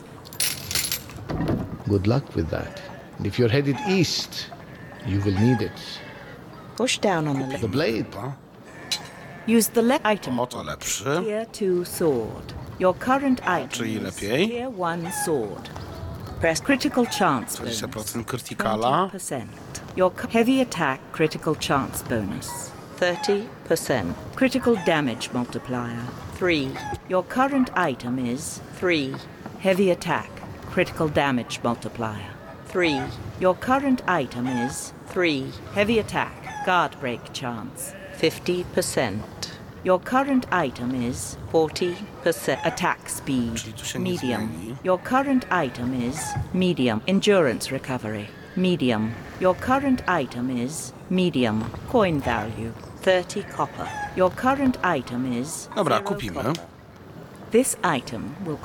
Good luck with that. And if you're headed east, you will need it. Push down on the left. The blade. Use the left item. O, to lepszy. Tier 2 sword. Your current item Czyli is lepiej. Tier 1 sword. Press critical chance bonus. 20% krytykala. 20%. Your heavy attack critical chance bonus. 30%. Critical damage multiplier. 3. Your current item is 3. Heavy attack critical damage multiplier. 3. Your current item is 3. Heavy attack, guard break chance, 50%. Your current item is 40% attack speed, medium. Your current item is medium. Endurance recovery, medium. Your current item is medium. Coin value, 30 copper. Your current item is Dobra, 0 kupimy. copper. This item will...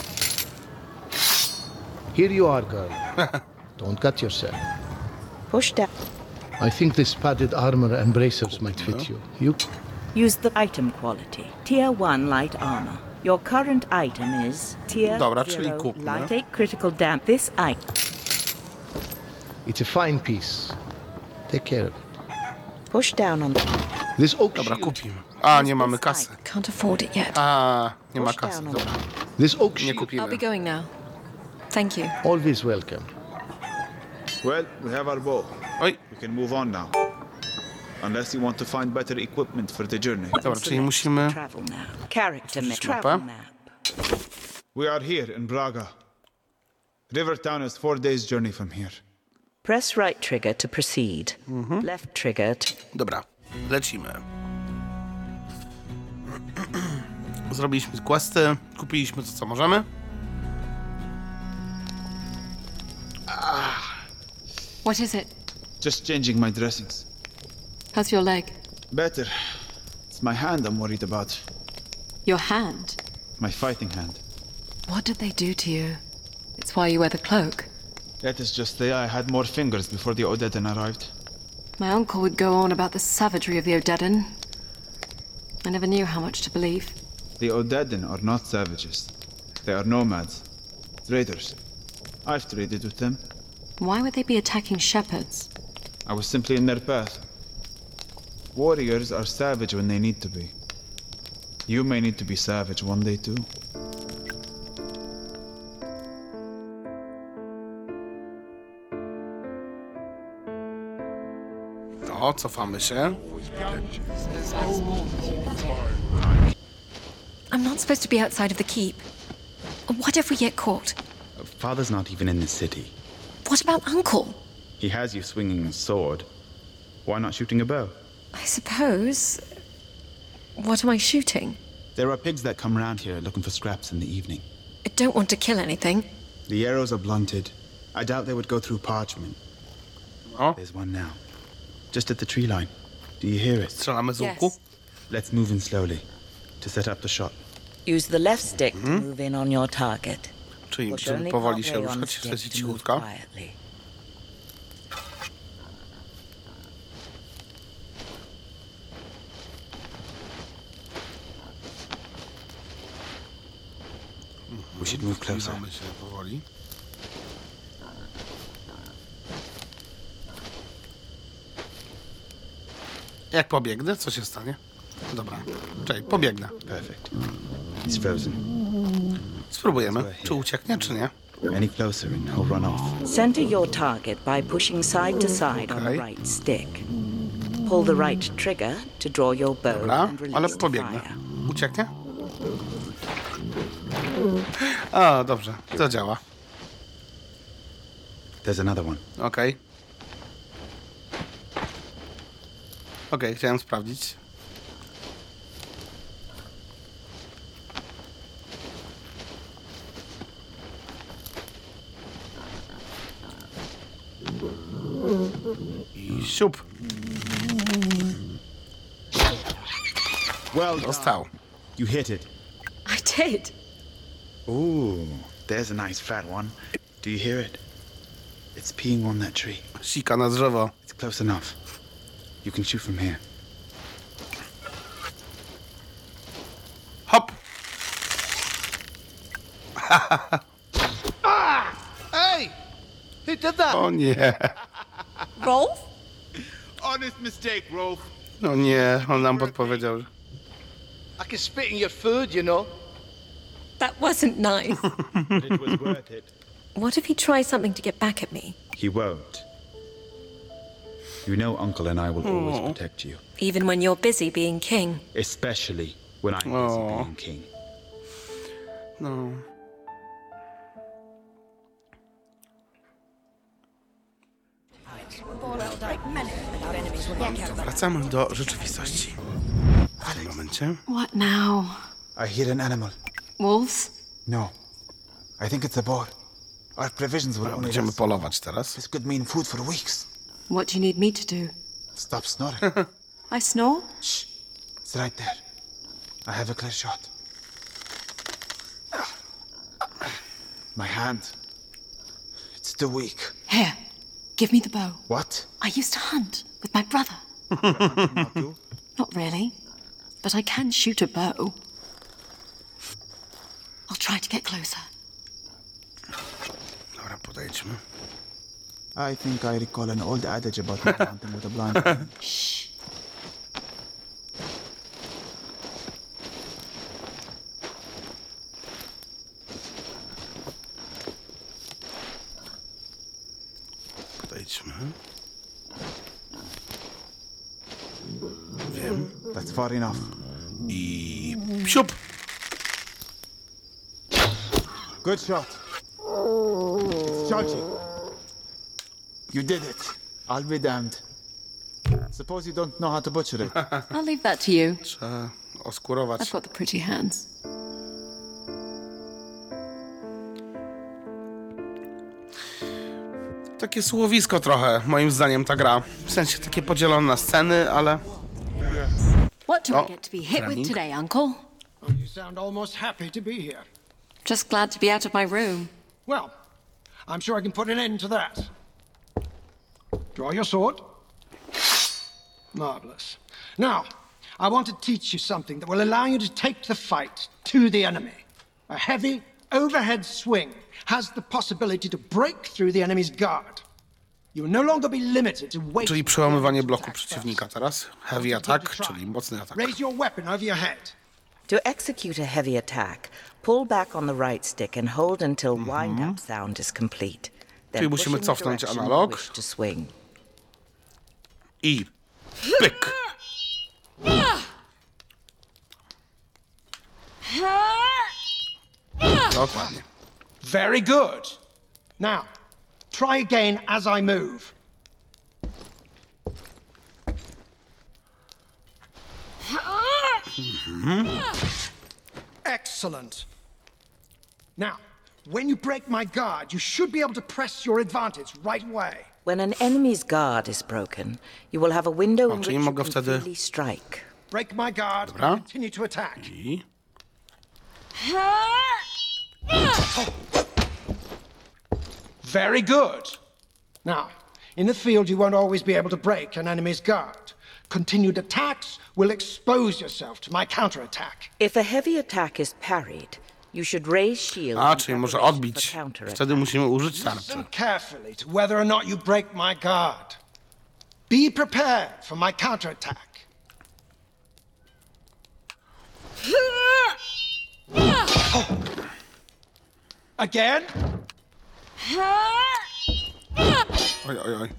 Here you are, girl. Don't cut yourself. Push down. I think this padded armor and bracers might fit you. You? Use the item quality. Tier 1 light armor. Your current item is Tier Dobra, czyli 0 kupmy. light. Take critical damage. This item. It's a fine piece. Take care of it. Push down on the... This oak Dobra, shield. kupimy. A, nie mamy kasy. Can't afford it yet. A, nie ma kasy, dobra. This oak Nie shield. I'll be kupimy. going now. Thank you. Always welcome. Well, we have our bow. Oj, We can move on now. Unless you want to find better equipment for the journey. dobra, czyli musimy... Travel map. Character map. mapę. Travel map. We are here in Braga. Rivertown is 4 days' journey from here. Press right trigger to proceed. Left trigger to... Dobra, lecimy. Zrobiliśmy questy, kupiliśmy to, co możemy. What is it? Just changing my dressings. How's your leg? Better. It's my hand I'm worried about. Your hand? My fighting hand. What did they do to you? It's why you wear the cloak. That is just the I had more fingers before the Odedan arrived. My uncle would go on about the savagery of the Odedan. I never knew how much to believe. The Odedan are not savages. They are nomads. Traders. I've traded with them. Why would they be attacking shepherds? I was simply in their path. Warriors are savage when they need to be. You may need to be savage one day too. No, cofamy się. I'm not supposed to be outside of the keep. What if we get caught? Father's not even in the city. What about Uncle? He has you swinging a sword. Why not shooting a bow? I suppose. What am I shooting? There are pigs that come round here looking for scraps in the evening. I don't want to kill anything. The arrows are blunted. I doubt they would go through parchment. Oh. There's one now. Just at the tree line. Do you hear it? Strzelamy z łuku. Yes. Let's move in slowly to set up the shot. Use the left stick to move in on your target. Czyli Push żeby only powoli się halfway on ruszać, stick lecieć to move cichutko. quietly. We should move closer. Zbliżamy się powoli. Jak pobiegnę, co się stanie? Dobra, czekaj, pobiegnę. Perfect. He's frozen. Spróbujemy, czy ucieknie, czy nie. Any closer and he'll run off. Center your target by pushing side to side on the Okay. right stick. Pull the right trigger to draw your bow Dobra, and ale release the pobiegnę. fire. Ucieknie? A, dobrze, to działa. There's another one. Okej. Okej, chciałem sprawdzić. I siup. Well Dostał. You hit it. I did. Ooh, there's a nice fat one. Do you hear it? It's peeing on that tree. Sika na drzewo. It's close enough. You can shoot from here. Hop! Hey! Who did that? O nie. Rolf? Honest mistake, Rolf. No nie, on nam podpowiedział. I can spit in your food, you know. That wasn't nice. But it was worth it. What if he tries something to get back at me? He won't. You know Uncle and I will always protect you. Even when you're busy being king? Especially when I'm busy being king. No. Wracamy do rzeczywistości. W tym momencie. What now? I hear an animal. Wolves? No. I think it's a boar. Our provisions will only Będziemy last. polować teraz. This could mean food for weeks. What do you need me to do? Stop snoring. I snore? Shh. It's right there. I have a clear shot. My hand. It's too weak. Here, give me the bow. What? I used to hunt with my brother. Not really, but I can shoot a bow. I'll try to get closer. Dobra, podejdźmy. I think I recall an old adage about not hunting with a blind. Shh. Podejdźmy. Wiem. That's far enough. I siup! Good shot. It's charging. You did it. I'll be damned. Suppose you don't know how to butcher it. I'll leave that to you. Trzeba oskurować. I've got the pretty hands. Takie słowisko trochę, moim zdaniem, ta gra. W sensie takie podzielone na sceny, ale... What do Oh, I get to be hit Fleming. with today, Uncle? You sound almost happy to be here. Just glad to be out of my room. Well, I'm sure I can put an end to that. Draw your sword. Marvelous. Now, I want to teach you something that will allow you to take the fight to the enemy. A heavy, overhead swing has the possibility to break through the enemy's guard. You will no longer be limited to waiting. Czyli przełamywanie bloku przeciwnika teraz. Heavy attack, czyli mocny atak. Raise your weapon over your head. To execute a heavy attack, pull back on the right stick and hold until wind-up sound is complete. Then Czyli push musimy in the cofnąć direction you analog. wish to swing. I pyk! Dokładnie. Very good. Now, try again as I move. Excellent. Now, when you break my guard, you should be able to press your advantage right away. When an enemy's guard is broken, you will have a window in which czyli you mogę can wtedy- freely strike. Break my guard Dobra. and continue to attack. I... Very good. Now, in the field, you won't always be able to break an enemy's guard. Continued attacks will expose yourself to my counterattack. If a heavy attack is parried, you should raise shield A, in czyli może preparation odbić. for counterattack. Wtedy musimy użyć tarczy. Listen carefully to whether or not you break my guard. Be prepared for my counterattack. Again? Oj, oj, oj.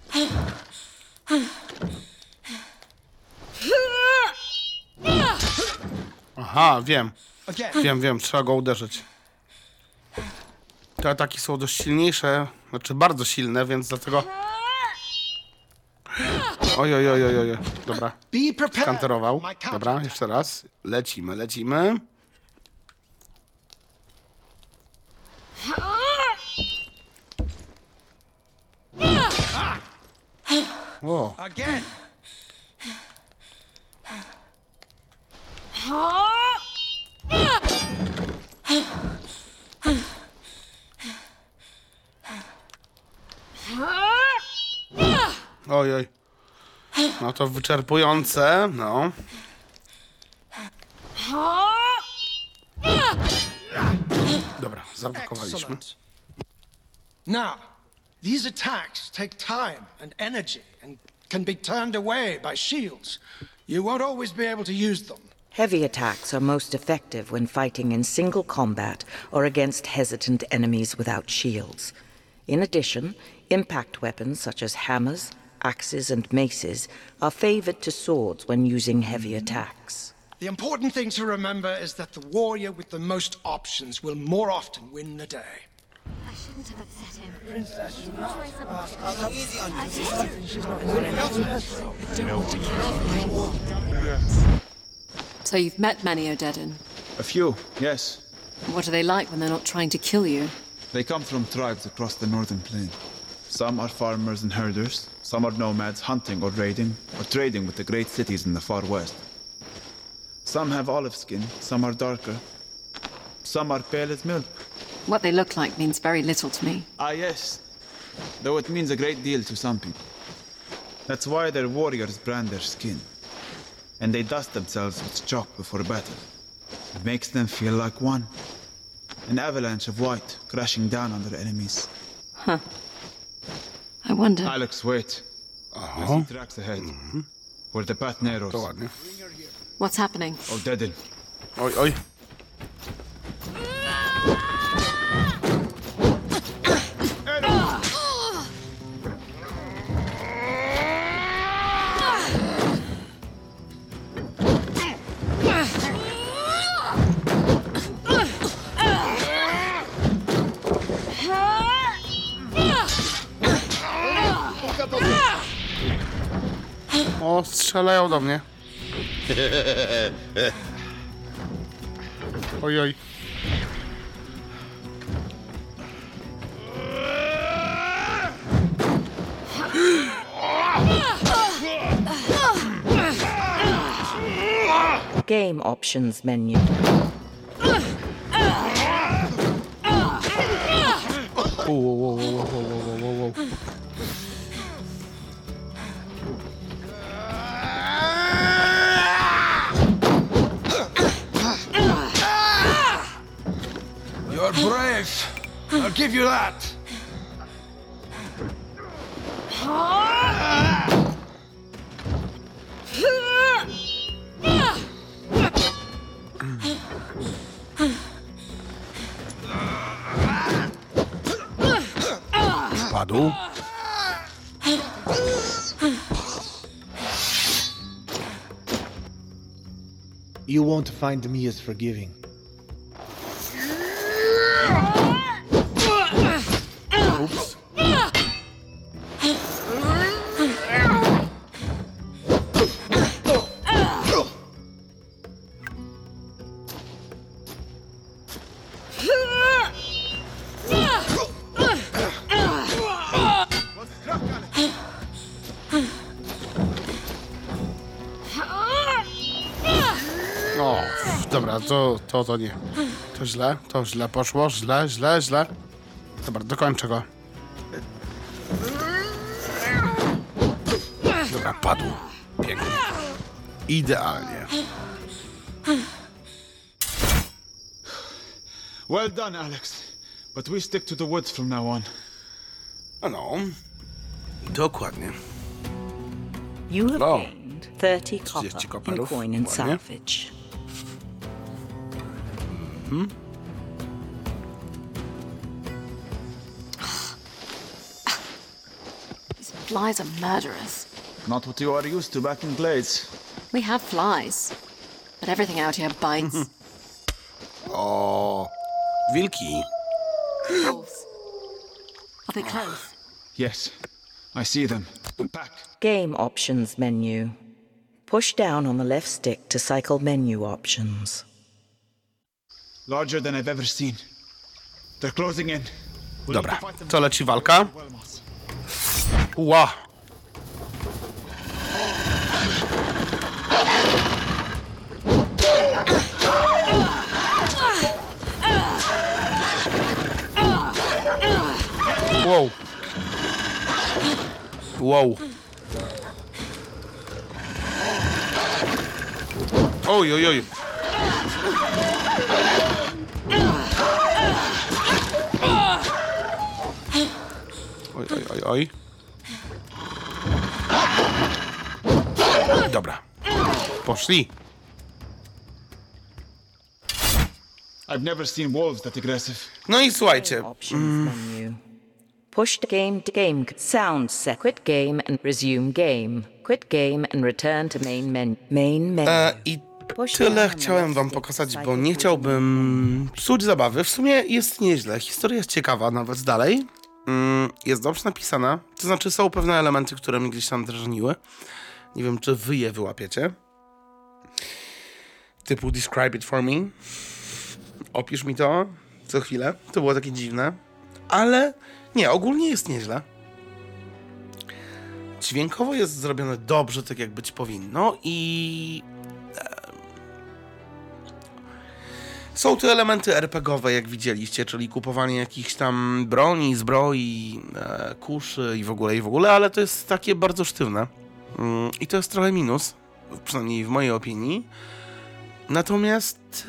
Aha, wiem. Wiem, trzeba go uderzyć. Te ataki są dość silniejsze, znaczy bardzo silne, więc dlatego... Oj, oj, oj, oj, oj. Dobra. Skanterował. Dobra, jeszcze raz. Lecimy. O. Again. Oj, oj. No to wyczerpujące, no. Dobra, zablokowaliśmy. Excellent. Now, these attacks take time and energy and can be turned away by shields. You won't always be able to use them. Heavy attacks are most effective when fighting in single combat or against hesitant enemies without shields. In addition, impact weapons such as hammers, axes, and maces are favored to swords when using heavy attacks. The important thing to remember is that the warrior with the most options will more often win the day. I should shouldn't have upset him. So you've met many Odedin. A few, yes. What are they like when they're not trying to kill you? They come from tribes across the northern plain. Some are farmers and herders, some are nomads hunting or raiding, or trading with the great cities in the far west. Some have olive skin, some are darker. Some are pale as milk. What they look like means very little to me. Ah, yes. Though it means a great deal to some people. That's why their warriors brand their skin. And they dust themselves with chalk before battle. It makes them feel like one. An avalanche of white crashing down on their enemies. Huh. I wonder... Alex, wait. I see tracks ahead. Where the path narrows. What's happening? Odedin. Oj, oj. O, strzelają do mnie. Oj, oj. Game options menu. Wow. You're brave. I'll give you that. Padł. You won't find me as forgiving. Oops. O, dobra, to nie. To źle poszło, źle. Dobra, dokończę go. Dobra, padł. Pięknie. Idealnie. Well done, Alex. But we stick to the woods from now on. No, dokładnie. You have O, gained 30 30 copper in koperów, coin and ładnie. salvage. These flies are murderous. Not what you are used to back in Glades. We have flies, but everything out here bites. O, wilki. Wolves. Are they close? Yes, I see them. Back. Game options menu. Push down on the left stick to cycle menu options. Larger than I've ever seen. They're closing in. Dobra, co leci walka? Ła. Wow. Oj. Oj. Dobra. Poszli. I've never seen wolves that aggressive. No i słuchajcie. Options menu. Push the game to game. Sound set. Quit game and resume game. Quit game and return to main menu. I Tyle chciałem wam pokazać, bo nie chciałbym psuć zabawy. W sumie jest nieźle. Historia jest ciekawa, nawet dalej. Jest dobrze napisana. To znaczy są pewne elementy, które mnie gdzieś tam drażniły. Nie wiem, czy wy je wyłapiecie. Typu describe it for me. Opisz mi to co chwilę. To było takie dziwne. Ale nie, ogólnie jest nieźle. Dźwiękowo jest zrobione dobrze, tak jak być powinno i... Są tu elementy RPGowe, jak widzieliście, czyli kupowanie jakichś tam broni, zbroi, kuszy i w ogóle, ale to jest takie bardzo sztywne. I to jest trochę minus, przynajmniej w mojej opinii. Natomiast...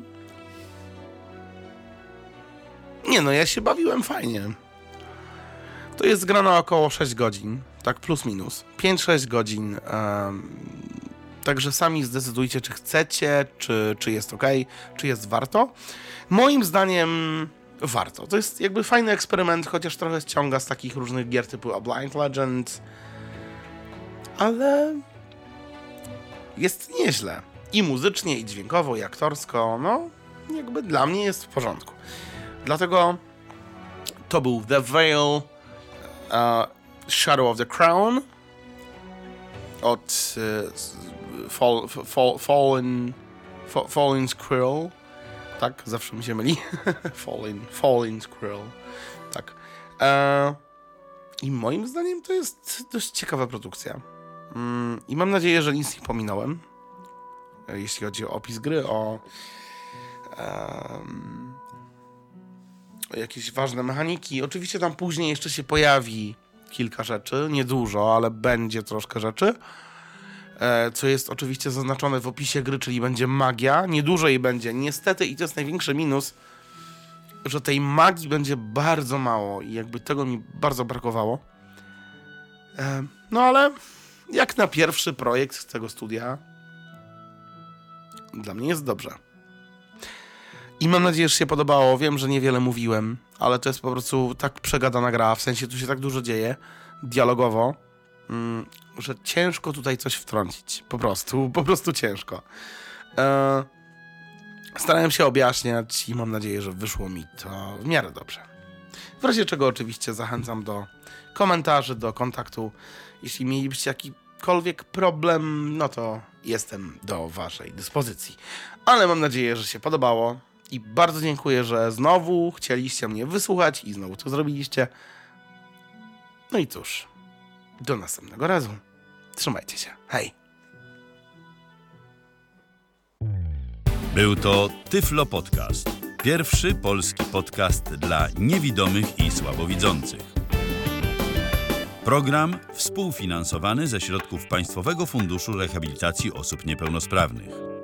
Nie no, ja się bawiłem fajnie. To jest gra na około 6 godzin, tak plus minus. 5-6 godzin. Także sami zdecydujcie, czy chcecie, czy jest ok, czy jest warto. Moim zdaniem warto. To jest jakby fajny eksperyment, chociaż trochę ściąga z takich różnych gier typu A Blind Legend. Ale jest nieźle. I muzycznie, i dźwiękowo, i aktorsko. No, jakby dla mnie jest w porządku. Dlatego to był The Veil, Shadow of the Crown od Fallen Squirrel. Tak, zawsze mi się myli. Fallen Squirrel. Tak. I moim zdaniem to jest dość ciekawa produkcja. I mam nadzieję, że nic nie pominąłem. Jeśli chodzi o opis gry, o jakieś ważne mechaniki. Oczywiście tam później jeszcze się pojawi kilka rzeczy, niedużo, ale będzie troszkę rzeczy, co jest oczywiście zaznaczone w opisie gry, czyli będzie magia. Niedużo jej będzie, niestety, i to jest największy minus, że tej magii będzie bardzo mało i jakby tego mi bardzo brakowało. No ale jak na pierwszy projekt tego studia, dla mnie jest dobrze. I mam nadzieję, że się podobało. Wiem, że niewiele mówiłem, ale to jest po prostu tak przegadana gra, w sensie tu się tak dużo dzieje, dialogowo, że ciężko tutaj coś wtrącić. Po prostu ciężko. Starałem się objaśniać i mam nadzieję, że wyszło mi to w miarę dobrze. W razie czego oczywiście zachęcam do komentarzy, do kontaktu. Jeśli mielibyście jakikolwiek problem, no to jestem do waszej dyspozycji. Ale mam nadzieję, że się podobało. I bardzo dziękuję, że znowu chcieliście mnie wysłuchać i znowu to zrobiliście. No i cóż, do następnego razu. Trzymajcie się. Hej! Był to Tyflo Podcast. Pierwszy polski podcast dla niewidomych i słabowidzących. Program współfinansowany ze środków Państwowego Funduszu Rehabilitacji Osób Niepełnosprawnych.